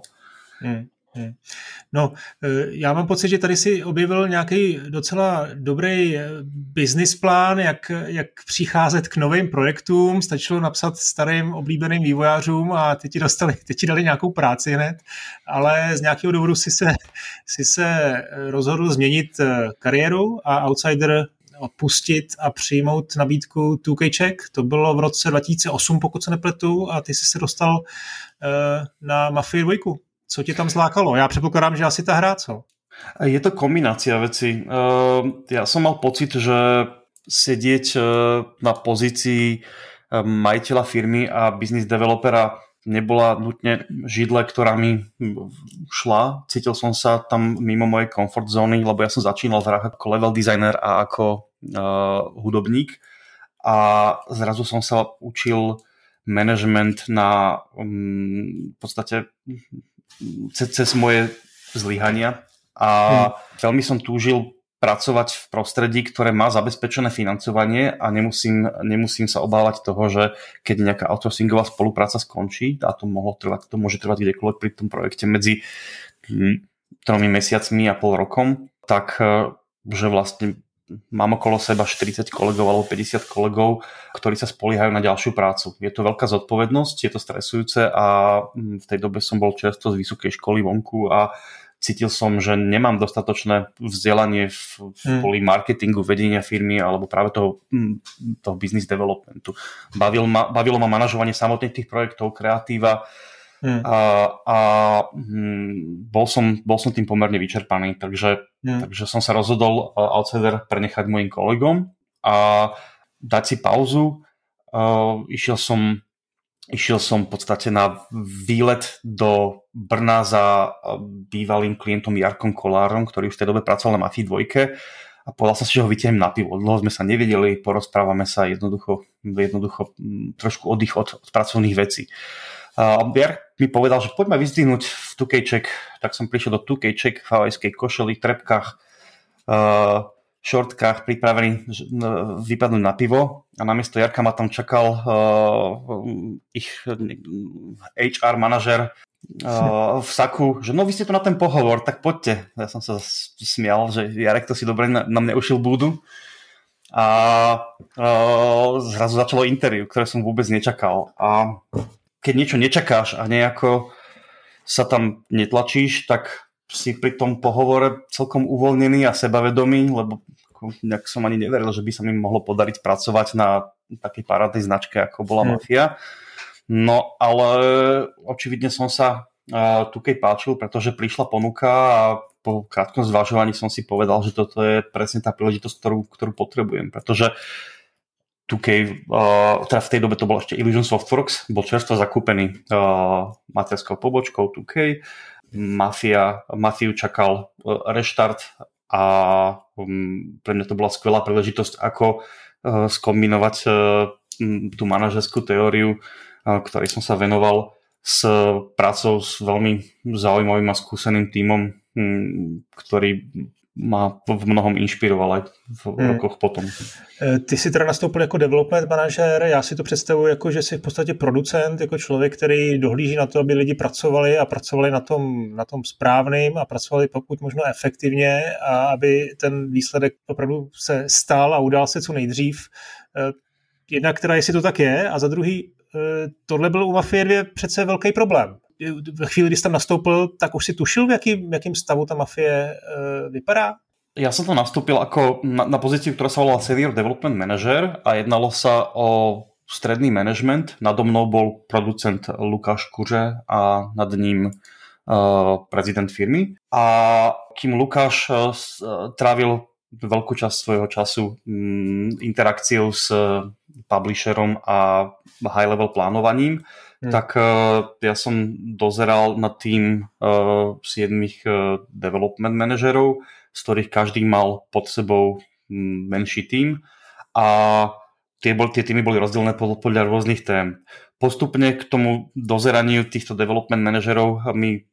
No, já mám pocit, že tady si objevil nějaký docela dobrý business plán, jak přicházet k novým projektům. Stačilo napsat starým oblíbeným vývojářům a teď ti dali nějakou práci hned, ale z nějakého důvodu si se rozhodl změnit kariéru a Outsider opustit a přijmout nabídku 2K Czech. To bylo v roce 2008, pokud se nepletu, a ty jsi se dostal na Mafii 2. Co ti tam zlákalo? Já předpokládám, že asi ta hra, co? Je to kombinácia veci. Ja som mal pocit, že sedieť na pozícii majiteľa firmy a business developera nebola nutne židle, ktorá mi šla. Cítil som sa tam mimo mojej comfort zóny, lebo ja som začínal v hrách ako level designer a ako hudobník a zrazu som sa učil management na v podstate cez moje zlyhania a veľmi som túžil pracovať v prostredí, ktoré má zabezpečené financovanie a nemusím sa obávať toho, že keď nejaká outsourcingová spolupráca skončí, a to môže trvať kdekoľvek pri tom projekte medzi 3 mesiacmi a pol rokom, tak že vlastne mám okolo seba 40 kolegov alebo 50 kolegov, ktorí sa spoliehajú na ďalšiu prácu. Je to veľká zodpovednosť, je to stresujúce a v tej dobe som bol čerstvo z vysokej školy vonku a cítil som, že nemám dostatočné vzdelanie v poli marketingu, vedenia firmy alebo práve toho business developmentu. Bavilo ma manažovanie samotných tých projektov, kreatíva a bol som tým pomerne vyčerpaný, takže som sa rozhodol Outsider prenechať mojim kolegom a dať si pauzu. Išiel som v podstate na výlet do Brna za bývalým klientom Jarkom Kolárom, ktorý už v tej dobe pracoval na Mafii 2 a povedal som si, že ho vytiahnem na pivo. Dlho sme sa nevideli, porozprávame sa jednoducho trošku oddych od pracovných vecí. Jark mi povedal, že poďme vyzdvihnúť v 2K Czech, tak som prišiel do 2K Czech v havajskej košeli, trepkách, šortkách pripravený vypadnúť na pivo a namiesto Jarka ma tam čakal ich HR manažer v saku, že no vy ste tu na ten pohovor, tak poďte. Ja som sa smial, že Jarek to si dobre na mne ušil búdu a zrazu začalo interview, ktoré som vôbec nečakal a keď niečo nečakáš a nejako sa tam netlačíš, tak si pri tom pohovore celkom uvoľnený a sebavedomý, lebo nejak som ani neveril, že by sa mi mohlo podariť pracovať na takej parádnej značke, ako bola Mafia. No, ale očividne som sa tu keď páčil, pretože prišla ponuka a po krátkom zvažovaní som si povedal, že toto je presne tá príležitosť, ktorú potrebujem, pretože 2K, teda v tej dobe to bolo ešte Illusion Softworks, bol čerstvo zakúpený materskou pobočkou 2K. Mafiu čakal reštart a pre mňa to bola skvelá príležitosť, ako skombinovať tú manažerskú teóriu, ktorej som sa venoval s prácou s veľmi zaujímavým a skúseným tímom, ktorý ma v mnohom inšpiroval aj v rokoch potom. Ty si teda nastoupil jako development manažer, já si to představuji jako, že jsi v podstatě producent, jako člověk, který dohlíží na to, aby lidi pracovali a pracovali na tom správným a pracovali pokud možno efektivně a aby ten výsledek opravdu se stal a udál se co nejdřív. Jednak teda, jestli to tak je, a za druhý, tohle byl u Mafie 2 přece velký problém. Ve chvíli, kdy jsi tam nastoupil, tak už si tušil, v jakým stavu ta Mafie vypadá? Ja som tam nastúpil ako na pozíciu, ktorá sa volala Senior Development Manager a jednalo sa o stredný management. Nado mnou bol producent Lukáš Kuře a nad ním prezident firmy. A kým Lukáš trávil veľkú časť svojho času interakciou s publisherom a high-level plánovaním, tak ja som dozeral na tým 7 development manažerov, z ktorých každý mal pod sebou menší tím a tie týmy boli rozdelené podľa rôznych tém. Postupne k tomu dozeraniu týchto development manažerov mi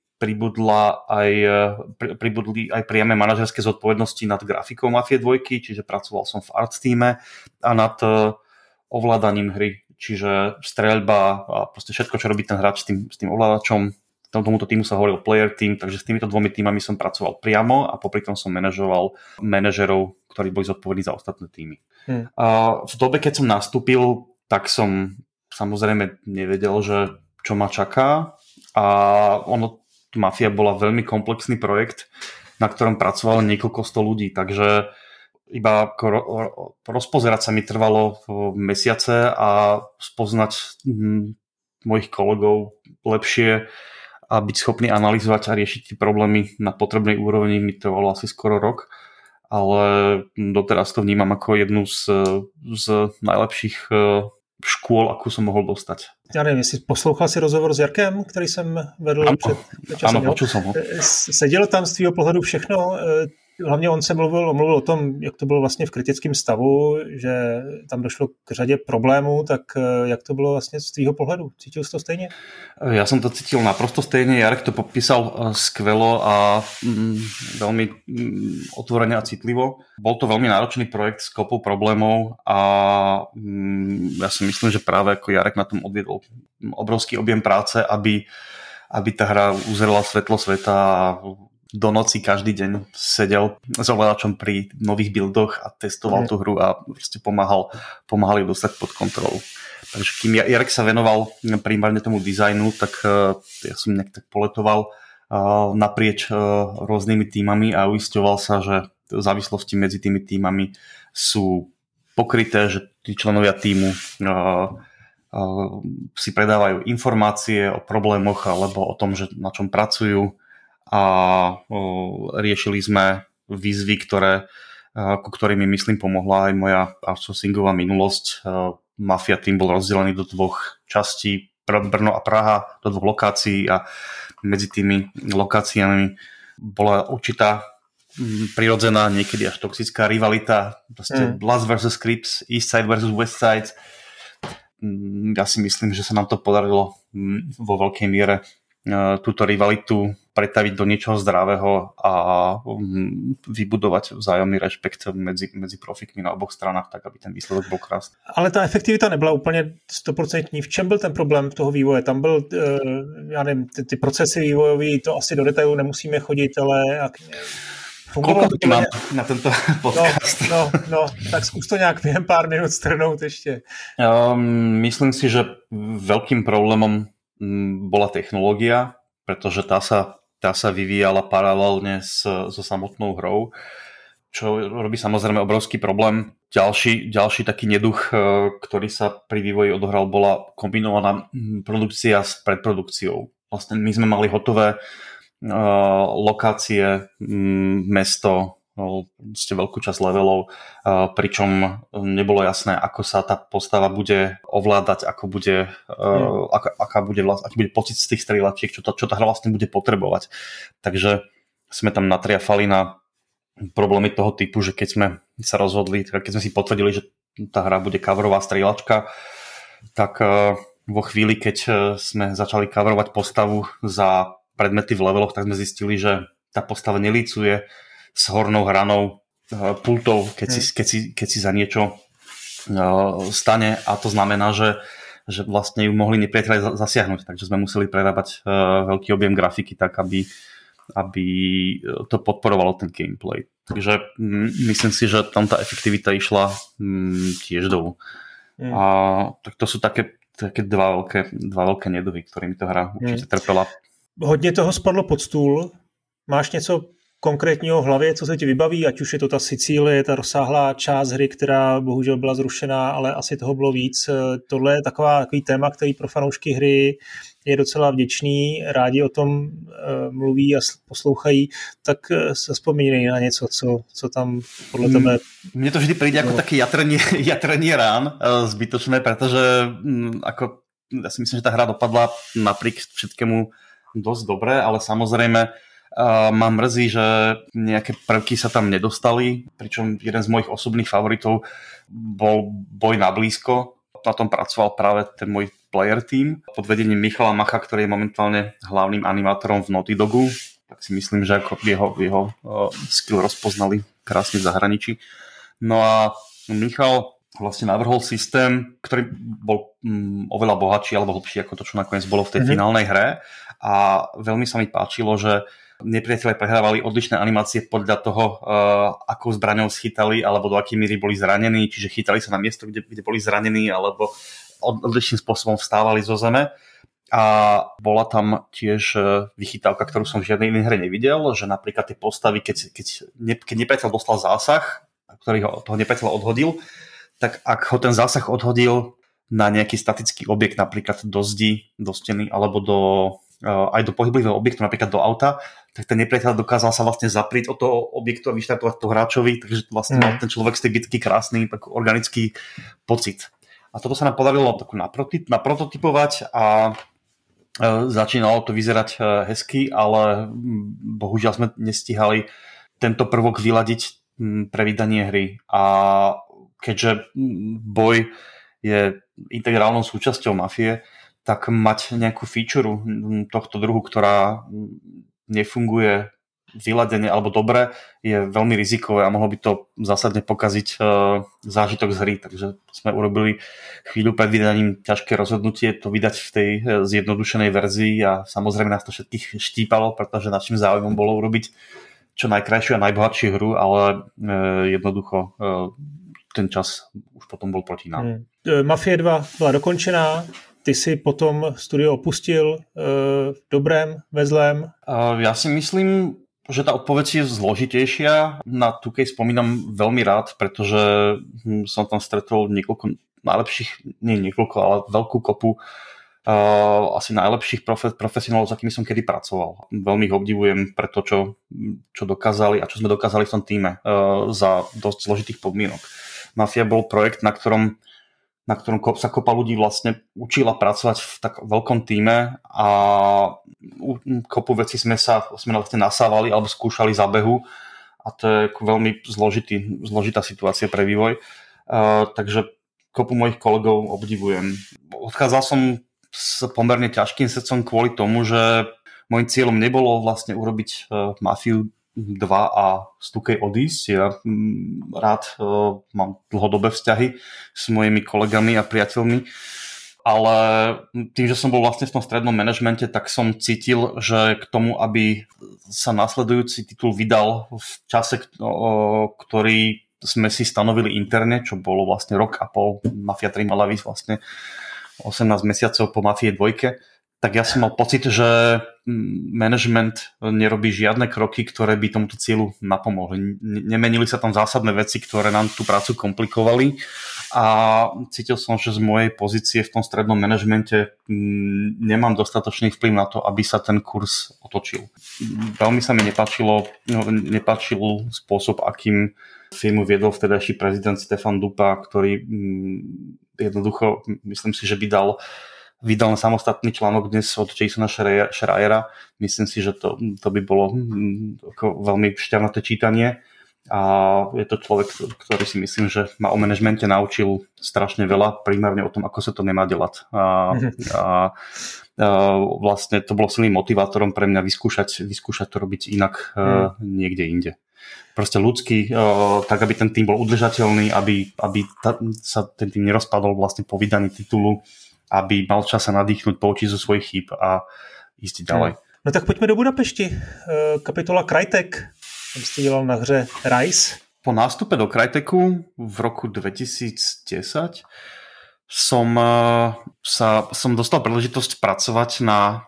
pribudli aj priame manažerské zodpovednosti nad grafikou Mafie 2, čiže pracoval som v art týme a nad ovládaním hry, čiže streľba a proste všetko, čo robí ten hráč s tým ovládačom. Tomuto týmu sa hovoril player team, takže s týmito 2 týmami som pracoval priamo a popri tom som manažoval manažerov, ktorí boli zodpovední za ostatné týmy. A v dobe, keď som nastúpil, tak som samozrejme nevedel, že čo ma čaká a Mafia bola veľmi komplexný projekt, na ktorom pracovalo niekoľko 100 ľudí, takže iba rozpozerať sa mi trvalo mesiace a spoznať mojich kolegov lepšie a byť schopný analyzovať a riešiť tie problémy na potrebnej úrovni mi trvalo asi skoro rok, ale doteraz to vnímam ako jednu z najlepších škôl, akú som mohol dostať. Já nevím, jestli poslouchal si rozhovor s Jarkem, který jsem vedl před časem. Ano, počul jsem ho. Sedělo tam z tvýho pohledu všechno? Hlavně on se mluvil o tom, jak to bylo vlastně v kritickém stavu, že tam došlo k řadě problémů, tak jak to bylo vlastně z tvýho pohledu? Cítil jsi to stejně? Ja som to cítil naprosto stejne. Jarek to popísal skvelo a veľmi otvorene a citlivo. Bol to veľmi náročný projekt s kopou problémov a ja si myslím, že práve ako Jarek na tom odviedol obrovský objem práce, aby tá hra uzrela svetlo sveta a do noci každý deň sedel s ovládačom pri nových buildoch a testoval tú hru a proste pomáhal ju dostať pod kontrolu. Takže kým Jarek sa venoval primárne tomu dizajnu, tak ja som nejak tak poletoval naprieč rôznymi tímami a uisťoval sa, že závislosti medzi tými tímami sú pokryté, že tí členovia tímu si predávajú informácie o problémoch alebo o tom, že na čom pracujú, a riešili sme výzvy, ku ktorým mi myslím pomohla aj moja outsourcingová minulosť. Mafia Team bol rozdelený do dvoch častí, Brno a Praha, do dvoch lokácií a medzi tými lokáciami bola určitá prirodzená, niekedy až toxická rivalita, proste Blast vs. Crips, East Side vs. West Side. Ja si myslím, že sa nám to podarilo vo veľkej miere túto rivalitu pretaviť do niečoho zdravého a vybudovať vzájomný rešpekt medzi profikmi na oboch stranách, tak aby ten výsledok bol krásný. Ale ta efektivita nebyla úplně 100%. V čem byl ten problém toho vývoje? Tam byl, já nevím, ty procesy vývojový, to asi do detailu nemusíme chodit, ale... Koľko to mám na tento podcast? No, tak zkus to nějak během pár minut strhnout ještě. Myslím si, že veľkým problémom bola technológia, pretože tá sa vyvíjala paralelne so samotnou hrou, čo robí samozrejme obrovský problém. Ďalší taký neduch, ktorý sa pri vývoji odohral, bola kombinovaná produkcia s predprodukciou. Vlastne my sme mali hotové lokácie, mesto, veľkú časť levelov, pričom nebolo jasné, ako sa tá postava bude ovládať, aký bude pocit z tých strieľačiek, čo tá hra vlastne bude potrebovať. Takže sme tam natriafali na problémy toho typu, že keď sme sa rozhodli, keď sme si potvrdili, že tá hra bude coverová strieľačka, tak vo chvíli, keď sme začali coverovať postavu za predmety v leveloch, tak sme zistili, že tá postava nelícuje s hornou hranou pultov, keď si za niečo stane, a to znamená, že vlastne ju mohli nepriatelia zasiahnuť, takže sme museli prerábať veľký objem grafiky tak, aby to podporovalo ten gameplay. Takže myslím si, že tam tá efektivita išla tiež dolu. A tak to sú také dva veľké neduhy, ktorými to hra určite trpela. Hodně toho spadlo pod stůl. Máš něco konkrétního v hlavě, co se ti vybaví, ať už je to ta Sicílie, ta rozsáhlá část hry, která bohužel byla zrušená, ale asi toho bylo víc. Tohle je takový téma, který pro fanoušky hry je docela vděčný, rádi o tom mluví a poslouchají, tak se vzpomínej na něco, co tam podle tebe... Mne to vždy príde ako také jatrenie rán zbytočné, pretože ja si myslím, že tá hra dopadla napriek všetkému dosť dobre, ale samozrejme ma mrzí, že nejaké prvky sa tam nedostali, pričom jeden z mojich osobných favoritov bol Boj na blízko. Na tom pracoval práve ten môj player team pod vedením Michala Macha, ktorý je momentálne hlavným animátorom v Naughty Dogu. Tak si myslím, že ako jeho skill rozpoznali krásne v zahraničí. No a Michal vlastne navrhol systém, ktorý bol oveľa bohatší alebo hlbší ako to, čo nakoniec bolo v tej finálnej hre. A veľmi sa mi páčilo, že nepriatelia prehrávali odlišné animácie podľa toho, akou zbraňou schytali alebo do akej míry boli zranení, čiže chytali sa na miesto, kde boli zranení, alebo odlišným spôsobom vstávali zo zeme. A bola tam tiež vychytávka, ktorú som v žiadnej inej hre nevidel, že napríklad tie postavy, keď nepriateľ dostal zásah, ktorý ho toho nepriateľa odhodil, tak ak ho ten zásah odhodil na nejaký statický objekt, napríklad do zdi, do steny alebo aj do pohyblivého objektu, napríklad do auta, tak ten nepriateľ dokázal sa vlastne zaprieť od toho objektu a vyštartovať to hráčovi, takže vlastne mal ten človek z tej bitky krásny tak organický pocit. A toto sa nám podarilo naprototypovať a začínalo to vyzerať hezky, ale bohužiaľ sme nestihali tento prvok vyladiť pre vydanie hry. A keďže boj je integrálnou súčasťou Mafie, tak mať nejakú feature tohto druhu, ktorá nefunguje vyladenie alebo dobre, je veľmi rizikové a mohlo by to zásadne pokaziť zážitok z hry. Takže sme urobili chvíľu pred vydaním ťažké rozhodnutie to vydať v tej zjednodušenej verzii a samozrejme nás to všetkých štípalo, pretože našim záujmom bolo urobiť čo najkrajšiu a najbohatšiu hru, ale jednoducho ten čas už potom bol proti nám. Mafie 2 byla dokončená. Ty si potom studio opustil v dobrém, ve zlém? Ja si myslím, že tá odpoveď je zložitejšia. Na 2K spomínam veľmi rád, pretože som tam stretol niekoľko najlepších, nie niekoľko, ale veľkú kopu asi najlepších profesionálov, s akými som kedy pracoval. Veľmi ich obdivujem pre to, čo dokázali a čo sme dokázali v tom týme za dosť zložitých podmienok. Mafia bol projekt, na ktorom sa kopa ľudí vlastne učila pracovať v tak veľkom tíme a kopu vecí sme vlastne nasávali alebo skúšali za behu a to je veľmi zložitá situácia pre vývoj. Takže kopu mojich kolegov obdivujem. Odchádzal som s pomerne ťažkým srdcom kvôli tomu, že môjim cieľom nebolo vlastne urobiť Mafiu 2 a 2K odísť. Ja rád mám dlhodobé vzťahy s mojimi kolegami a priateľmi, ale tým, že som bol vlastne v tom strednom manažmente, tak som cítil, že k tomu, aby sa nasledujúci titul vydal v čase, ktorý sme si stanovili interne, čo bolo vlastne rok a pol, Mafia 3 mala výsť vlastne 18 mesiacov po Mafie 2, tak ja som mal pocit, že management nerobí žiadne kroky, ktoré by tomuto cieľu napomohli. Nemenili sa tam zásadné veci, ktoré nám tú prácu komplikovali a cítil som, že z mojej pozície v tom strednom manažmente nemám dostatočný vplyv na to, aby sa ten kurz otočil. Veľmi sa mi nepáčil spôsob, akým firmu viedol vtedajší prezident Stefan Dupa, ktorý jednoducho, myslím si, že vydal na samostatný článok dnes od Jasona Schreiera. Myslím si, že to by bolo veľmi šťavnaté čítanie a je to človek, ktorý si myslím, že ma o manažmente naučil strašne veľa, primárne o tom, ako sa to nemá delať. A vlastne to bolo silným motivátorom pre mňa vyskúšať to robiť inak niekde inde. Proste ľudský, tak aby ten tým bol udržateľný, aby sa ten tým nerozpadol vlastne po vydaní titulu, aby mal čas sa nadýchnuť, poučiť zo svojich chýb a ísť ďalej. No tak pojďme do Budapešti. Kapitola Crytek. Tam ste dělal na hře Rise. Po nástupe do Cryteku v roku 2010 som dostal príležitosť pracovať na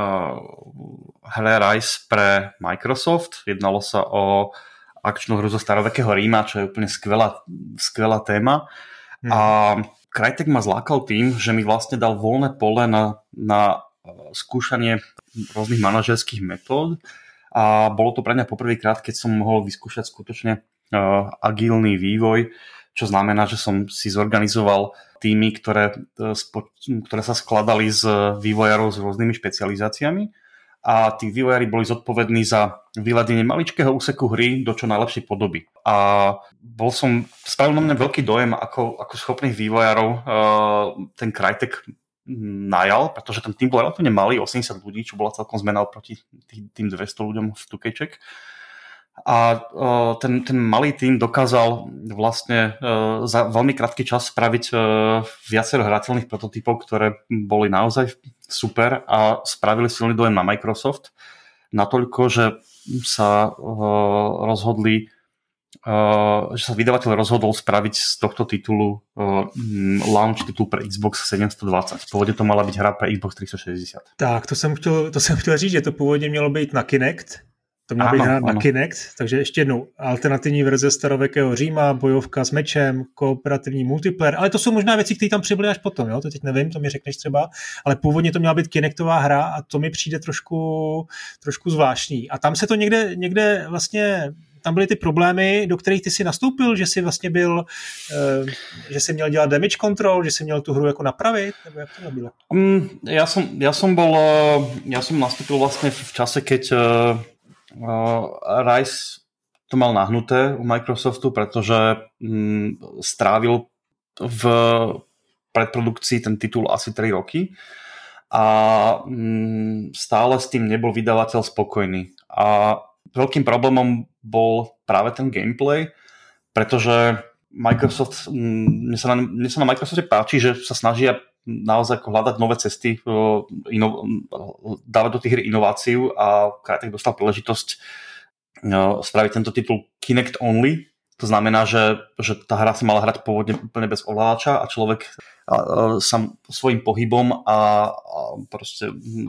hre Rise pre Microsoft. Jednalo sa o akčnú hru zo starovekého Ríma, čo je úplne skvelá téma. A Crytek ma zlákal tým, že mi vlastne dal voľné pole na skúšanie rôznych manažerských metód a bolo to pre mňa poprvýkrát, keď som mohol vyskúšať skutočne agilný vývoj, čo znamená, že som si zorganizoval týmy, ktoré sa skladali z vývojárov s rôznymi špecializáciami a tí vývojári boli zodpovední za vyladenie maličkého úseku hry do čo najlepšej podoby. A spravil na mňa veľký dojem, ako schopných vývojárov ten Crytek najal, pretože ten tým bol relatívne malý, 80 ľudí, čo bola celkom zmena oproti tým 200 ľuďom v 2K. A ten malý tým dokázal vlastne za veľmi krátky čas spraviť viacero hrateľných prototypov, ktoré boli naozaj super a spravili silný dojem na Microsoft. Natoľko, že sa vydavateľ rozhodol spraviť z tohto titulu launch titul pre Xbox 720. Pôvodne to mala byť hra pre Xbox 360. Tak, to jsem chtěl říct, že to původně mělo být na Kinect. To měla být hra na Kinect, takže ještě jednou alternativní verze starovekého Říma, bojovka s mečem, kooperativní multiplayer, ale to jsou možná věci, které tam přibyly až potom, jo? To teď nevím, to mi řekneš třeba, ale původně to měla být Kinectová hra a to mi přijde trošku zvláštní. A tam se to někde vlastně tam byly ty problémy, do kterých ty si nastoupil, že si vlastně byl, že si měl dělat damage control, že si měl tu hru jako napravit, nebo jak to bylo? Ja som nastúpil vlastne v čase, keď Rise to mal nahnuté u Microsoftu, pretože strávil v predprodukcii ten titul asi 3 roky a stále s tým nebol vydavateľ spokojný. A veľkým problémom bol práve ten gameplay, pretože Microsoft, mne sa na Microsofte páči, že sa snažia naozaj hľadať nové cesty, dávať do tých hier inováciu a Crytek dostal príležitosť spraviť tento titul Kinect only. To znamená, že tá hra sa mala hrať pôvodne úplne bez ovládača a človek sám svojím pohybom a proste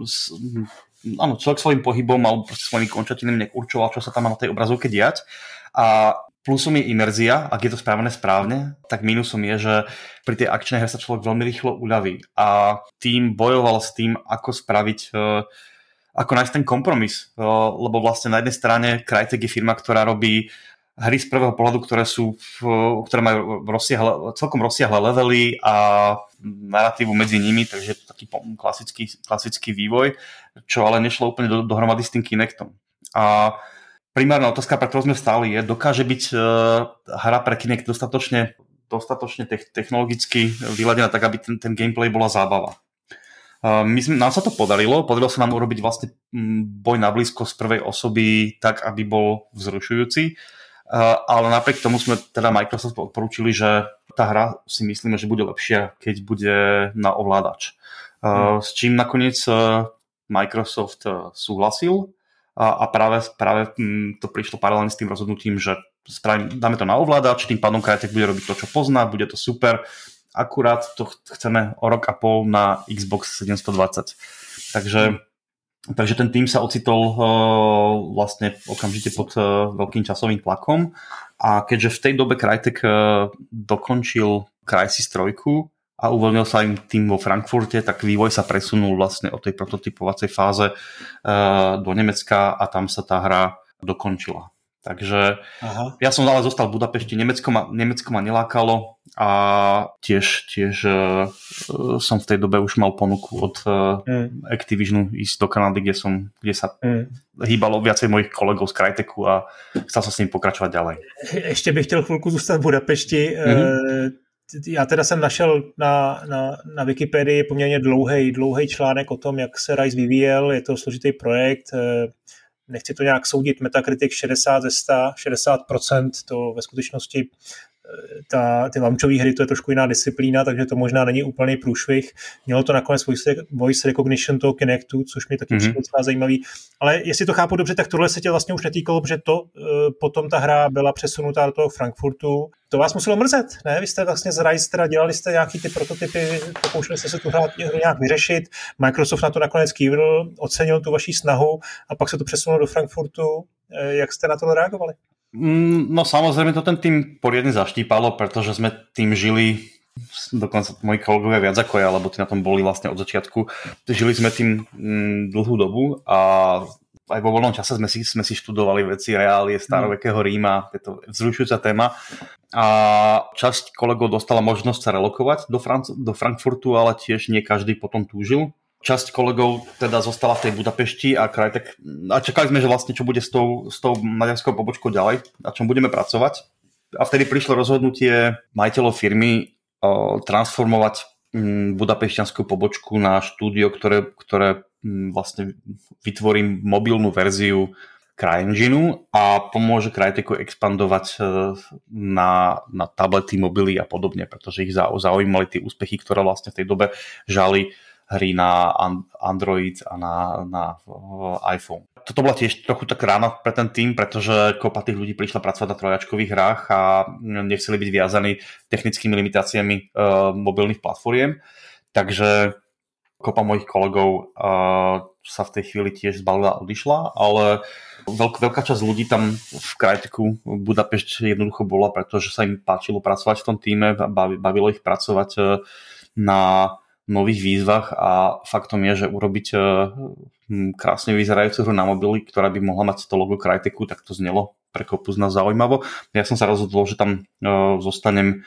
áno, človek svojím pohybom alebo proste svojimi končatinami nejak určoval, čo sa tam má na tej obrazovke diať. A plusom je imerzia, ak je to spravené správne, tak mínusom je, že pri tej akčnej hre sa človek veľmi rýchlo uľaví. A tým bojoval s tým, ako spraviť, ako nájsť ten kompromis. Lebo vlastne na jednej strane Crytek je firma, ktorá robí hry z prvého pohľadu, ktoré majú celkom rozsiahle levely a narratívu medzi nimi, takže je to taký klasický vývoj, čo ale nešlo úplne dohromady s tým Kinectom. A primárna otázka, pre ktorú sme stáli, je, dokáže byť hra pre Kinect dostatočne technologicky vyladená tak, aby ten gameplay bola zábava. Nám sa to podarilo sa nám urobiť vlastne boj na blízko z prvej osoby tak, aby bol vzrušujúci. Ale napriek tomu sme teda Microsoft odporúčili, že tá hra si myslíme, že bude lepšia, keď bude na ovládač. S čím nakoniec Microsoft súhlasil a práve to prišlo paralelne s tým rozhodnutím, že dáme to na ovládač, tým pádom Crytek bude robiť to, čo pozná, bude to super. Akurát to chceme o rok a pol na Xbox 720. Takže ten tým sa ocitol vlastne okamžite pod veľkým časovým tlakom a keďže v tej dobe Crytek dokončil Crysis 3 a uvoľnil sa im tým vo Frankfurte, tak vývoj sa presunul vlastne od tej prototypovacej fáze do Nemecka a tam sa tá hra dokončila. Takže ja som ale zostal v Budapešti, Nemecko ma nelákalo a tiež som v tej dobe už mal ponuku od Activisionu ísť do Kanady, kde sa hýbalo viacej mojich kolegov z Cryteku a chcel som s ním pokračovať ďalej. Ještě bych chtěl chvilku zůstat v Budapešti. Já teda jsem našel na Wikipedii poměrně dlouhý článek o tom, jak se Rise vyvíjel. Je to složitý projekt. Nechci to nějak soudit, Metacritic 60 ze 100, 60%, to ve skutečnosti ty launchové hry, to je trošku jiná disciplína, takže to možná není úplný průšvih. Mělo to nakonec voice recognition toho Kinectu, což mi taky přišlo docela zajímavý. Ale jestli to chápu dobře, tak tohle se tě vlastně už netýkalo, protože to potom ta hra byla přesunutá do toho Frankfurtu. To vás muselo mrzet, ne? Vy jste vlastně z Rise teda dělali jste nějaký ty prototypy, pokoušeli jste se tu hru nějak vyřešit. Microsoft na to nakonec kývil, ocenil tu vaši snahu a pak se to přesunulo do Frankfurtu. Jak jste na to reagovali? No samozrejme to ten tým poriadne zaštípalo, pretože sme tým žili, dokonca moji kolegovia viac ako ja, lebo tí na tom boli vlastne od začiatku. Žili sme tým dlhú dobu a aj vo voľnom čase sme si študovali veci reálie starovekého Ríma, je to vzrušujúca téma. A časť kolegov dostala možnosť sa relokovať do Frankfurtu, ale tiež nie každý potom túžil. Časť kolegov teda zostala v tej Budapešti a Crytek, a čakali sme, že vlastne čo bude s tou maďarskou pobočkou ďalej, na čom budeme pracovať. A vtedy prišlo rozhodnutie majiteľov firmy transformovať budapešťanskú pobočku na štúdio, ktoré vlastne vytvorí mobilnú verziu CryEngineu a pomôže Cryteku expandovať na tablety, mobily a podobne, pretože ich zaujímali tie úspechy, ktoré vlastne v tej dobe žali hry na Android a na iPhone. Toto bola tiež trochu tak rána pre ten tým, pretože kopa tých ľudí prišla pracovať na trojačkových hrách a nechceli byť viazaní technickými limitáciami mobilných platformiem. Takže kopa mojich kolegov sa v tej chvíli tiež zbalila a odišla, ale veľká časť ľudí tam v Cryteku Budapešť jednoducho bola, pretože sa im páčilo pracovať v tom týme, bavilo ich pracovať na nových výzvach a faktom je, že urobiť krásne vyzerajúcu hru na mobily, ktorá by mohla mať to logo Cryteku, tak to znelo pre kopu z nás zaujímavo. Ja som sa rozhodol, že tam zostanem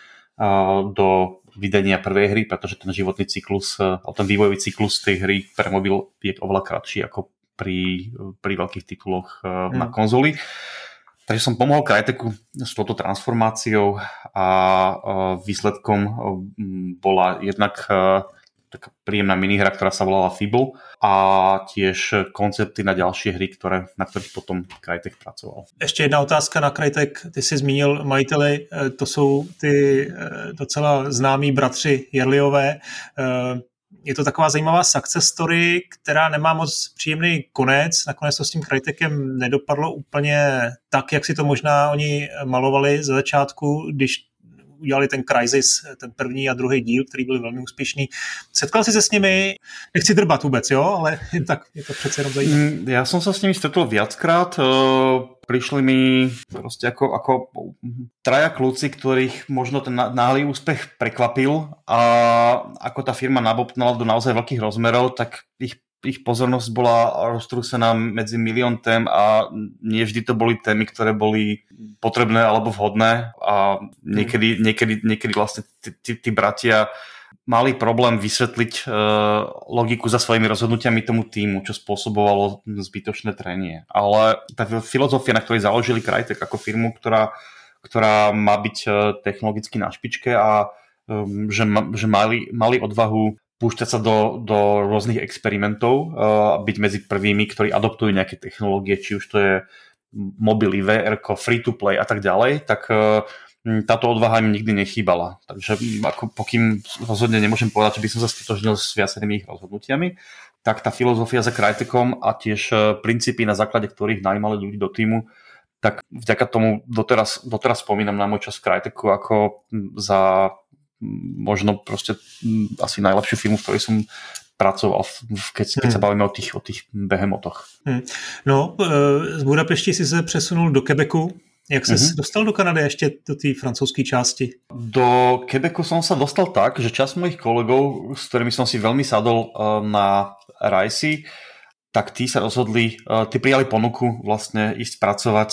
do vydania prvej hry, pretože ten životný cyklus, ten vývojový cyklus tej hry pre mobil je oveľa kratší ako pri veľkých tituloch na konzoli. Takže som pomohol Cryteku s touto transformáciou a výsledkom bola jednak taká príjemná minihra, ktorá sa volala Fibble a tiež koncepty na ďalšie hry, na ktorých potom Crytek pracoval. Ještě jedna otázka na Crytek. Ty jsi zmínil majiteli, to jsou ty docela známí bratři Jerliové. Je to taková zajímavá success story, která nemá moc příjemný konec. Nakonec to s tím Crytekem nedopadlo úplně tak, jak si to možná oni malovali ze začátku, když udělali ten Crysis, ten první a druhý díl, který byly velmi úspěšný. Setkal jsi se s nimi? Nechci drbat vůbec, jo? Ale tak je to přece jenom zajímavé. Ja som sa s nimi stretol viackrát. Prišli mi proste ako traja kluci, ktorých možno ten náhly úspech prekvapil a ako tá firma nabopnala do naozaj veľkých rozmerov, tak ich pozornosť bola roztrúsená medzi milión tém a nie vždy to boli témy, ktoré boli potrebné alebo vhodné a niekedy vlastne tí bratia mali problém vysvetliť logiku za svojimi rozhodnutiami tomu týmu, čo spôsobovalo zbytočné trenie. Ale tá filozofia, na ktorej založili Crytek ako firmu, ktorá má byť technologicky na špičke a že mali odvahu púšťať sa do rôznych experimentov a byť medzi prvými, ktorí adoptujú nejaké technológie, či už to je mobily, VR, free-to-play a tak ďalej, tak táto odvaha im nikdy nechýbala. Takže pokým rozhodne nemôžem povedať, že by som sa stotožnil s viacerými ich rozhodnutiami, tak tá filozofia za Crytekom a tiež princípy, na základe ktorých najímali ľudí do týmu, tak vďaka tomu doteraz spomínam na môj čas v Cryteku ako za možno proste asi najlepšiu firmu, v ktorej som pracoval, keď sa bavíme o tých behemotoch. No, z Budapešti si se přesunul do Quebecu. Jak ses dostal do Kanady ještě do té francouzské části? Do Quebecu som sa dostal tak, že časť mojich kolegov, s ktorými som si veľmi sadol na Rajsi, tak tí sa rozhodli, tí prijali ponuku vlastne ísť pracovať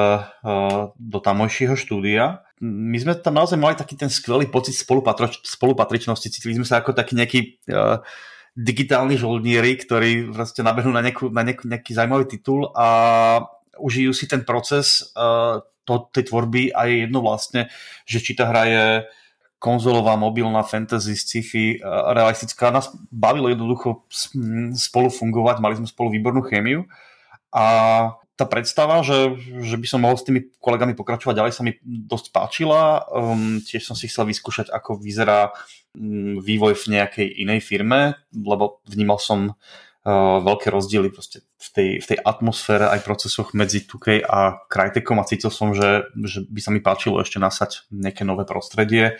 do tamojšieho štúdia. My sme tam naozaj mali taký ten skvelý pocit spolupatričnosti, cítili sme sa ako taký nejaký digitálni žoldnieri, ktorí vlastne nabehnú na nejaký zaujímavý titul a užijú si ten proces tej tvorby a je jedno vlastne, že či tá hra je konzolová, mobilná, fantasy, sci-fi, realistická. Nás bavilo jednoducho spolu fungovať, mali sme spolu výbornú chémiu a tá predstava, že by som mohol s tými kolegami pokračovať ďalej, sa mi dosť páčila. Tiež som si chcel vyskúšať, ako vyzerá vývoj v nejakej inej firme, lebo vnímal som veľké rozdiely proste v tej atmosfére aj procesoch medzi 2K a Crytekom a cítil som, že by sa mi páčilo ešte nasať nejaké nové prostredie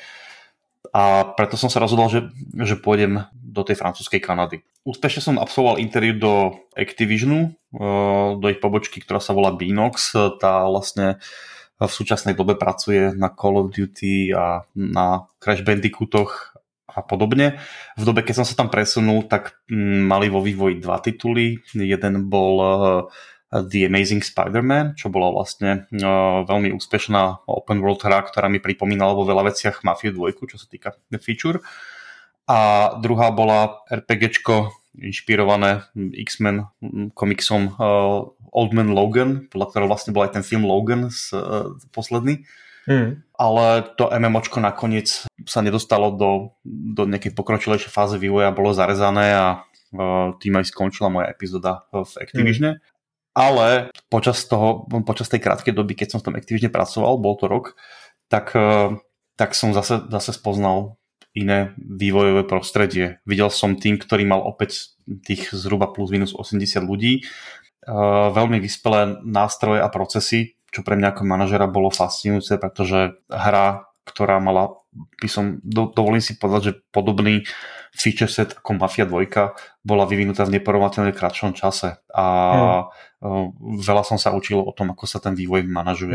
a preto som sa rozhodol, že pôjdem do tej francúzskej Kanady. Úspešne som absolvoval interview do Activisionu, do ich pobočky, ktorá sa volá Beanox. Tá vlastne v súčasnej dobe pracuje na Call of Duty a na Crash Bandicootoch a podobne. V dobe, keď som sa tam presunul, tak mali vo vývoji 2 tituly. Jeden bol The Amazing Spider-Man, čo bola vlastne veľmi úspešná open world hra, ktorá mi pripomínala vo veľa veciach Mafiu 2, čo sa týka feature. A druhá bola RPGčko inšpirované X-Men komiksom Old Man Logan, podľa ktorého vlastne bol aj ten film Logan posledný. Ale to MMOčko nakoniec sa nedostalo do nejakej pokročilejšej fáze vývoja, bolo zarezané a tým aj skončila moja epizóda v Activisione. Ale počas tej krátkej doby, keď som v tom Activisione pracoval, bol to rok, tak som zase spoznal iné vývojové prostredie. Videl som tým, ktorý mal opäť tých zhruba plus minus 80 ľudí, veľmi vyspelé nástroje a procesy, čo pre mňa ako manažera bolo fascinujúce, pretože hra, ktorá mala, dovolím si povedať, že podobný feature set ako Mafia 2 bola vyvinutá v neporovnateľne kratšom čase a veľa som sa učil o tom, ako sa ten vývoj manažuje.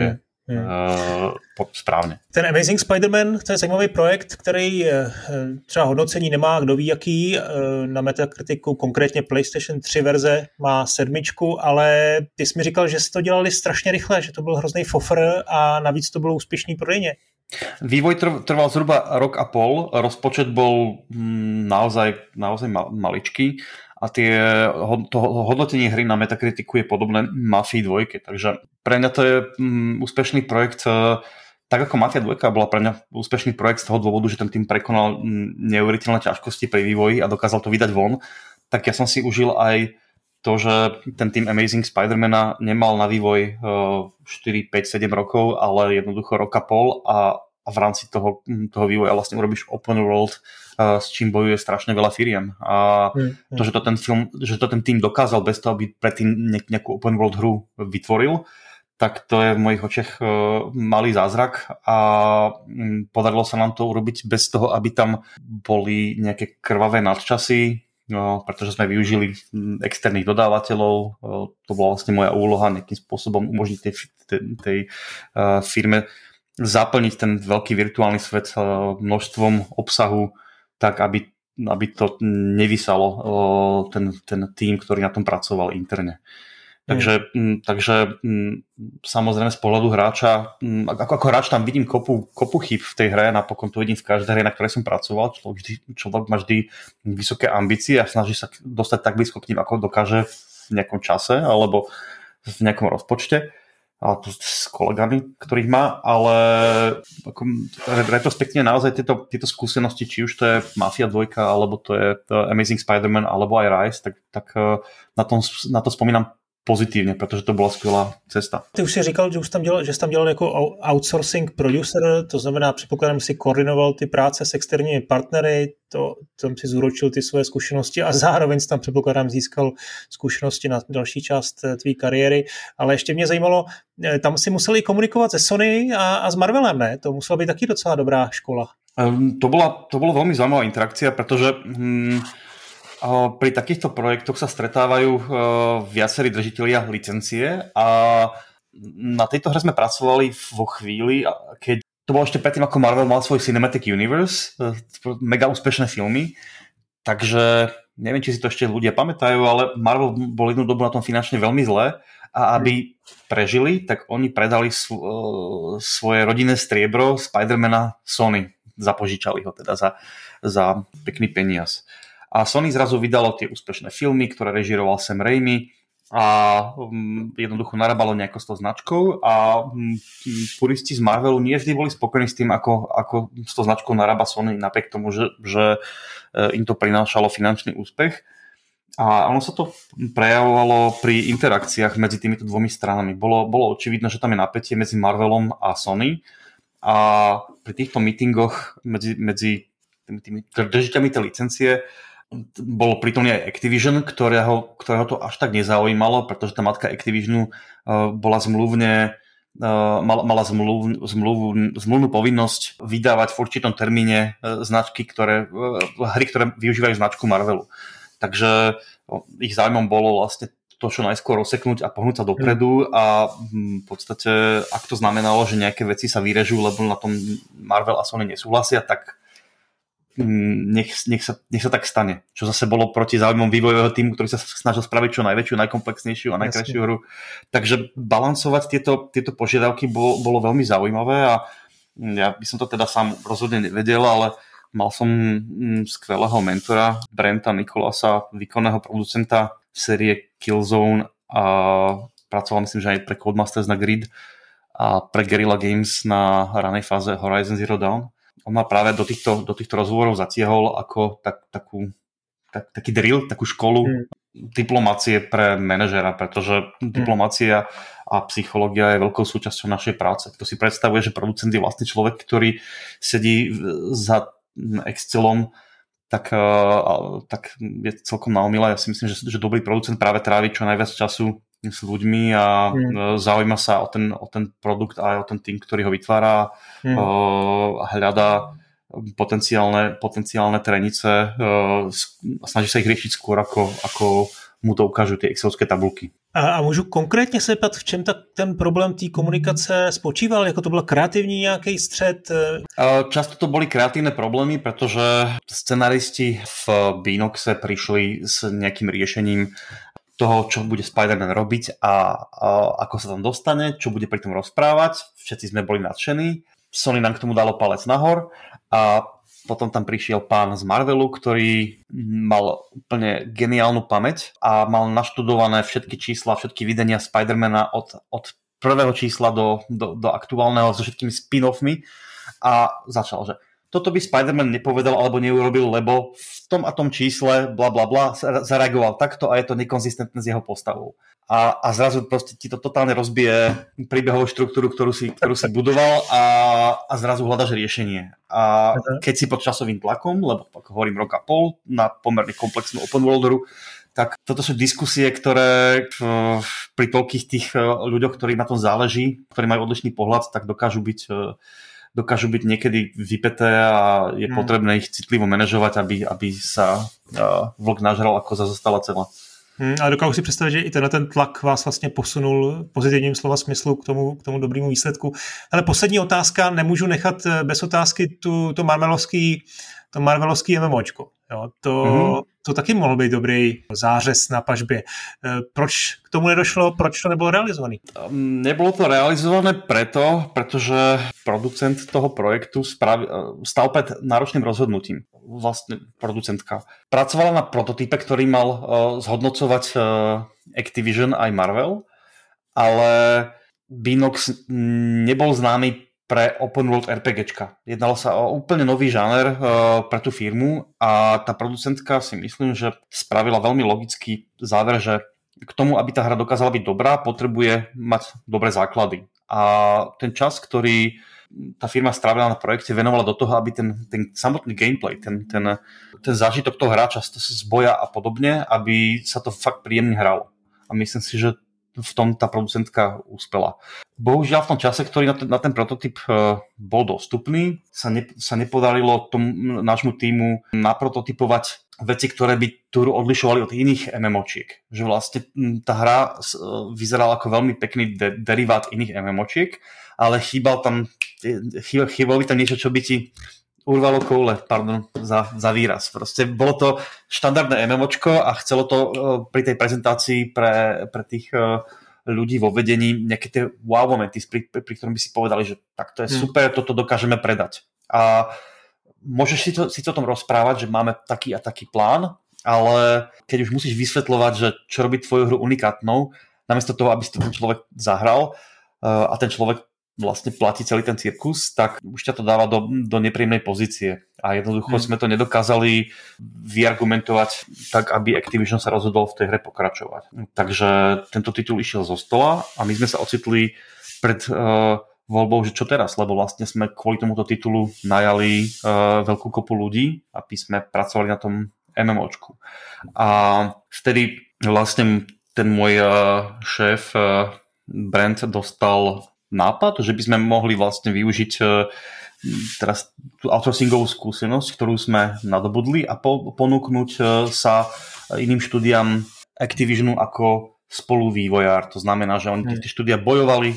správně. Ten Amazing Spider-Man, to je zajímavý projekt, který třeba hodnocení nemá, kdo ví jaký, na Metacriticu konkrétně PlayStation 3 verze má 7, ale ty jsi mi říkal, že jsi to dělali strašně rychle, že to byl hrozný fofr a navíc to bylo úspěšný prodejně. Vývoj trval zhruba rok a pol, rozpočet bol naozaj maličký a to hodnotenie hry na Metacriticu je podobné Mafii 2, takže pre mňa to je úspešný projekt, tak ako Mafia 2 bola pre mňa úspešný projekt z toho dôvodu, že ten tým prekonal neuveriteľné ťažkosti pri vývoji a dokázal to vydať von, tak ja som si užil aj to, že ten tým Amazing Spider-mana nemal na vývoj 4, 5, 7 rokov, ale jednoducho rok a pol a v rámci toho vývoja vlastne urobíš open world, s čím bojuje strašne veľa firiem. A to, že to ten tým dokázal bez toho, aby predtým nejakú open world hru vytvoril, tak to je v mojich očiach malý zázrak a podarilo sa nám to urobiť bez toho, aby tam boli nejaké krvavé nadčasy, pretože sme využili externých dodávateľov. To bola vlastne moja úloha nejakým spôsobom umožniť tej firme zaplniť ten veľký virtuálny svet množstvom obsahu tak, aby to nevysalo ten tým, ktorý na tom pracoval interne. Takže samozrejme z pohľadu hráča, ako hráč tam vidím kopu chyb v tej hre, napokon to vidím v každej hre, na ktorej som pracoval. Človek má vždy vysoké ambície a snaží sa dostať tak blízko k ním, ako dokáže v nejakom čase alebo v nejakom rozpočte. A to s kolegami, ktorých má, ale ako retrospektívne naozaj tieto skúsenosti, či už to je Mafia 2, alebo to je Amazing Spider-Man, alebo aj Rise, tak na to spomínam pozitívne, pretože to bola skvělá cesta. Ty už si říkal, že jsi tam dělal jako outsourcing producer, to znamená, předpokládám, si koordinoval ty práce s externími partnery, tam si zúročil ty svoje zkušenosti a zároveň si tam, předpokládám, získal zkušenosti na další část tvý kariéry, ale ještě mě zajímalo, tam si museli komunikovat se Sony a s Marvelem, ne? To musela být taky docela dobrá škola. To bolo veľmi zaujímavá interakcia, pretože pri takýchto projektoch sa stretávajú viacerí držitelia licencie a na tejto hre sme pracovali vo chvíli, keď to bolo ešte predtým, ako Marvel mal svoj Cinematic Universe, mega úspešné filmy, takže neviem, či si to ešte ľudia pamätajú, ale Marvel bol jednu dobu na tom finančne veľmi zle a aby prežili, tak oni predali svoje rodinné striebro Spider-mana Sony, zapožičali ho teda za pekný peniaz. A Sony zrazu vydalo tie úspešné filmy, ktoré režíroval Sam Raimi a jednoducho narábalo nejako s tou značkou a puristi z Marvelu nie vždy boli spokojní s tým, ako s tou značkou narába Sony, napriek tomu, že im to prinášalo finančný úspech. A ono sa to prejavovalo pri interakciách medzi týmito dvomi stranami. Bolo očividné, že tam je napätie medzi Marvelom a Sony a pri týchto meetingoch medzi tými držiteľmi tej licencie bolo prítomný aj Activision, ktorého to až tak nezaujímalo, pretože tá matka Activisionu bola mala zmluvnú povinnosť vydávať v určitom termíne hry, ktoré využívajú značku Marvelu. Takže ich záujmom bolo vlastne to čo najskôr rozseknúť a pohnúť sa dopredu a v podstate, ak to znamenalo, že nejaké veci sa vyrežú, lebo na tom Marvel a Sony nesúhlasia, tak nech sa tak stane. Čo zase bolo proti záujmom vývojového týmu, ktorý sa snažil spraviť čo najväčšiu, najkomplexnejšiu a najkrajšiu hru. Takže balancovať tieto požiadavky bolo veľmi zaujímavé a ja by som to teda sám rozhodne nevedel, ale mal som skvelého mentora, Brenta Nicolasa, výkonného producenta série Killzone a pracoval myslím, že aj pre Codemasters na Grid a pre Guerrilla Games na ranej fáze Horizon Zero Dawn. On ma práve do týchto rozhovorov zatiahol ako taký drill, takú školu diplomácie pre manažera, pretože diplomácia a psychológia je veľkou súčasťou našej práce. Kto si predstavuje, že producent je vlastne človek, ktorý sedí za Excelom, tak je celkom na omyle. Ja si myslím, že dobrý producent práve trávi čo najviac času s ľuďmi a zaujíma sa o ten produkt a aj o ten tým, ktorý ho vytvára, hľadá potenciálne trenice a snaží sa ich riešiť skôr, ako mu to ukážu tie excelovské tabulky. A můžu konkrétně se ptat, v čem ten problém té komunikace spočíval? Jako to byl kreativní nějaký střet? Často to boli kreatívne problémy, pretože scenaristi v Beanoxe prišli s nejakým riešením toho, čo bude Spider-Man robiť a ako sa tam dostane, čo bude pri tom rozprávať. Všetci sme boli nadšení. Sony nám k tomu dalo palec nahor a potom tam prišiel pán z Marvelu, ktorý mal úplne geniálnu pamäť a mal naštudované všetky čísla, všetky videnia Spider-mana od prvého čísla do aktuálneho so všetkými spin-offmi a začal, že toto by Spider-Man nepovedal alebo neurobil, lebo v tom a tom čísle bla bla bla zareagoval takto a je to nekonzistentné s jeho postavou. A zrazu proste ti to totálne rozbije príbehovú štruktúru, ktorú si budoval a zrazu hľadaš riešenie. A keď si pod časovým tlakom, lebo ako hovorím rok a pol na pomerne komplexnú open worlderu, tak toto sú diskusie, ktoré pri toľkých tých ľuďoch, ktorí na tom záleží, ktorí majú odlišný pohľad, tak dokážu byť niekedy vypäté a je potrebné ich citlivo manažovať, aby sa vlk nažral, ako zostala celá. A dokážu si představit, že i ten tlak vás vlastně posunul v pozitivním slova smyslu k tomu dobrému výsledku. Ale poslední otázka, nemůžu nechat bez otázky to Marvelovský MMOčko. Jo, to taky mohl být dobrý zářez na pažbě. Proč k tomu nedošlo? Proč to nebylo realizované? Nebolo to realizované pretože producent toho projektu stal pred náročným rozhodnutím. Vlastne producentka pracovala na prototype, ktorý mal zhodnocovať Activision aj Marvel, ale Beanox nebol známy pre open world RPGčka. Jednalo sa o úplne nový žáner pre tú firmu a tá producentka si myslím, že spravila veľmi logický záver, že k tomu, aby tá hra dokázala byť dobrá, potrebuje mať dobré základy. A ten čas, ktorý tá firma strávila na projekte, venovala do toho, aby ten samotný gameplay, ten zážitok toho hráča z boja a podobne, aby sa to fakt príjemne hralo. A myslím si, že v tom tá producentka uspela. Bohužiaľ v tom čase, ktorý na ten prototyp bol dostupný, sa nepodarilo nášmu týmu naprototypovať veci, ktoré by tú hru odlišovali od iných MMOčiek. Že vlastne tá hra vyzerala ako veľmi pekný derivát iných MMOčiek, ale chýbalo by tam niečo, čo by ti urvalo koule, pardon za výraz. Proste bolo to štandardné MMOčko a chcelo to pri tej prezentácii pre tých ľudí vo vedení nejaké tie wow momenty, pri ktorom by si povedali, že tak to je super, toto dokážeme predať. A môžeš si to o tom rozprávať, že máme taký a taký plán, ale keď už musíš vysvetľovať, že čo robí tvoju hru unikátnou, namiesto toho, aby si to ten človek zahral a ten človek vlastne platí celý ten cirkus, tak už ťa to dáva do nepríjemnej pozície. A jednoducho sme to nedokázali vyargumentovať tak, aby Activision sa rozhodol v tej hre pokračovať. Takže tento titul išiel zo stola a my sme sa ocitli pred voľbou, že čo teraz, lebo vlastne sme kvôli tomuto titulu najali veľkú kopu ľudí, aby sme pracovali na tom MMOčku. A vtedy vlastne ten môj šéf Brent dostal nápad, že by sme mohli vlastne využiť teraz tú outsourcingovú skúsenosť, ktorú sme nadobudli a ponúknuť sa iným štúdiám Activisionu ako spoluvývojár. To znamená, že oni tie štúdia bojovali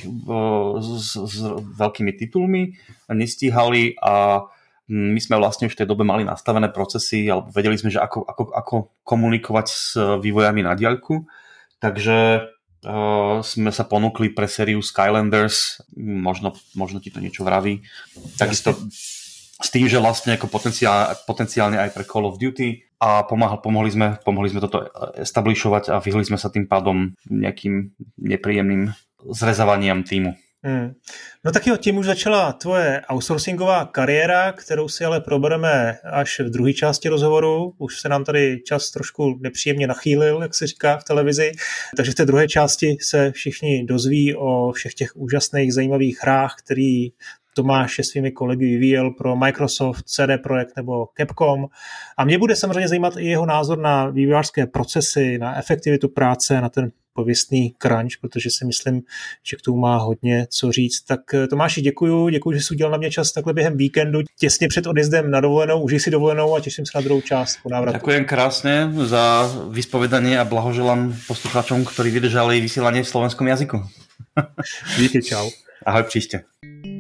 s veľkými titulmi, nestíhali a my sme vlastne už v tej dobe mali nastavené procesy alebo vedeli sme, že ako komunikovať s vývojami na diaľku. Takže sme sa ponúkli pre sériu Skylanders, možno ti to niečo vraví. Takisto s tým, že vlastne ako potenciálne aj pre Call of Duty a pomohli sme toto establishovať a vyhli sme sa tým pádom nejakým nepríjemným zrezávaniam týmu. No tak jo, tím už začala tvoje outsourcingová kariéra, kterou si ale probereme až v druhé části rozhovoru. Už se nám tady čas trošku nepříjemně nachýlil, jak se říká v televizi. Takže v té druhé části se všichni dozví o všech těch úžasných, zajímavých hrách, který Tomáš se svými kolegy vyvíjel pro Microsoft, CD Projekt nebo Capcom. A mě bude samozřejmě zajímat i jeho názor na vývojářské procesy, na efektivitu práce, na ten pověstný crunch, protože si myslím, že k tomu má hodně co říct. Tak Tomáši, děkuju, že jsi udělal na mě čas takhle během víkendu, těsně před odjezdem na dovolenou, užij si dovolenou a těším se na druhou část po návratu. Ďakujem krásne za vyspovedanie a blahoželám poslucháčom, ktorí vydržali vysielanie v slovenskom jazyku. Díky, čau. Ahoj, príšte.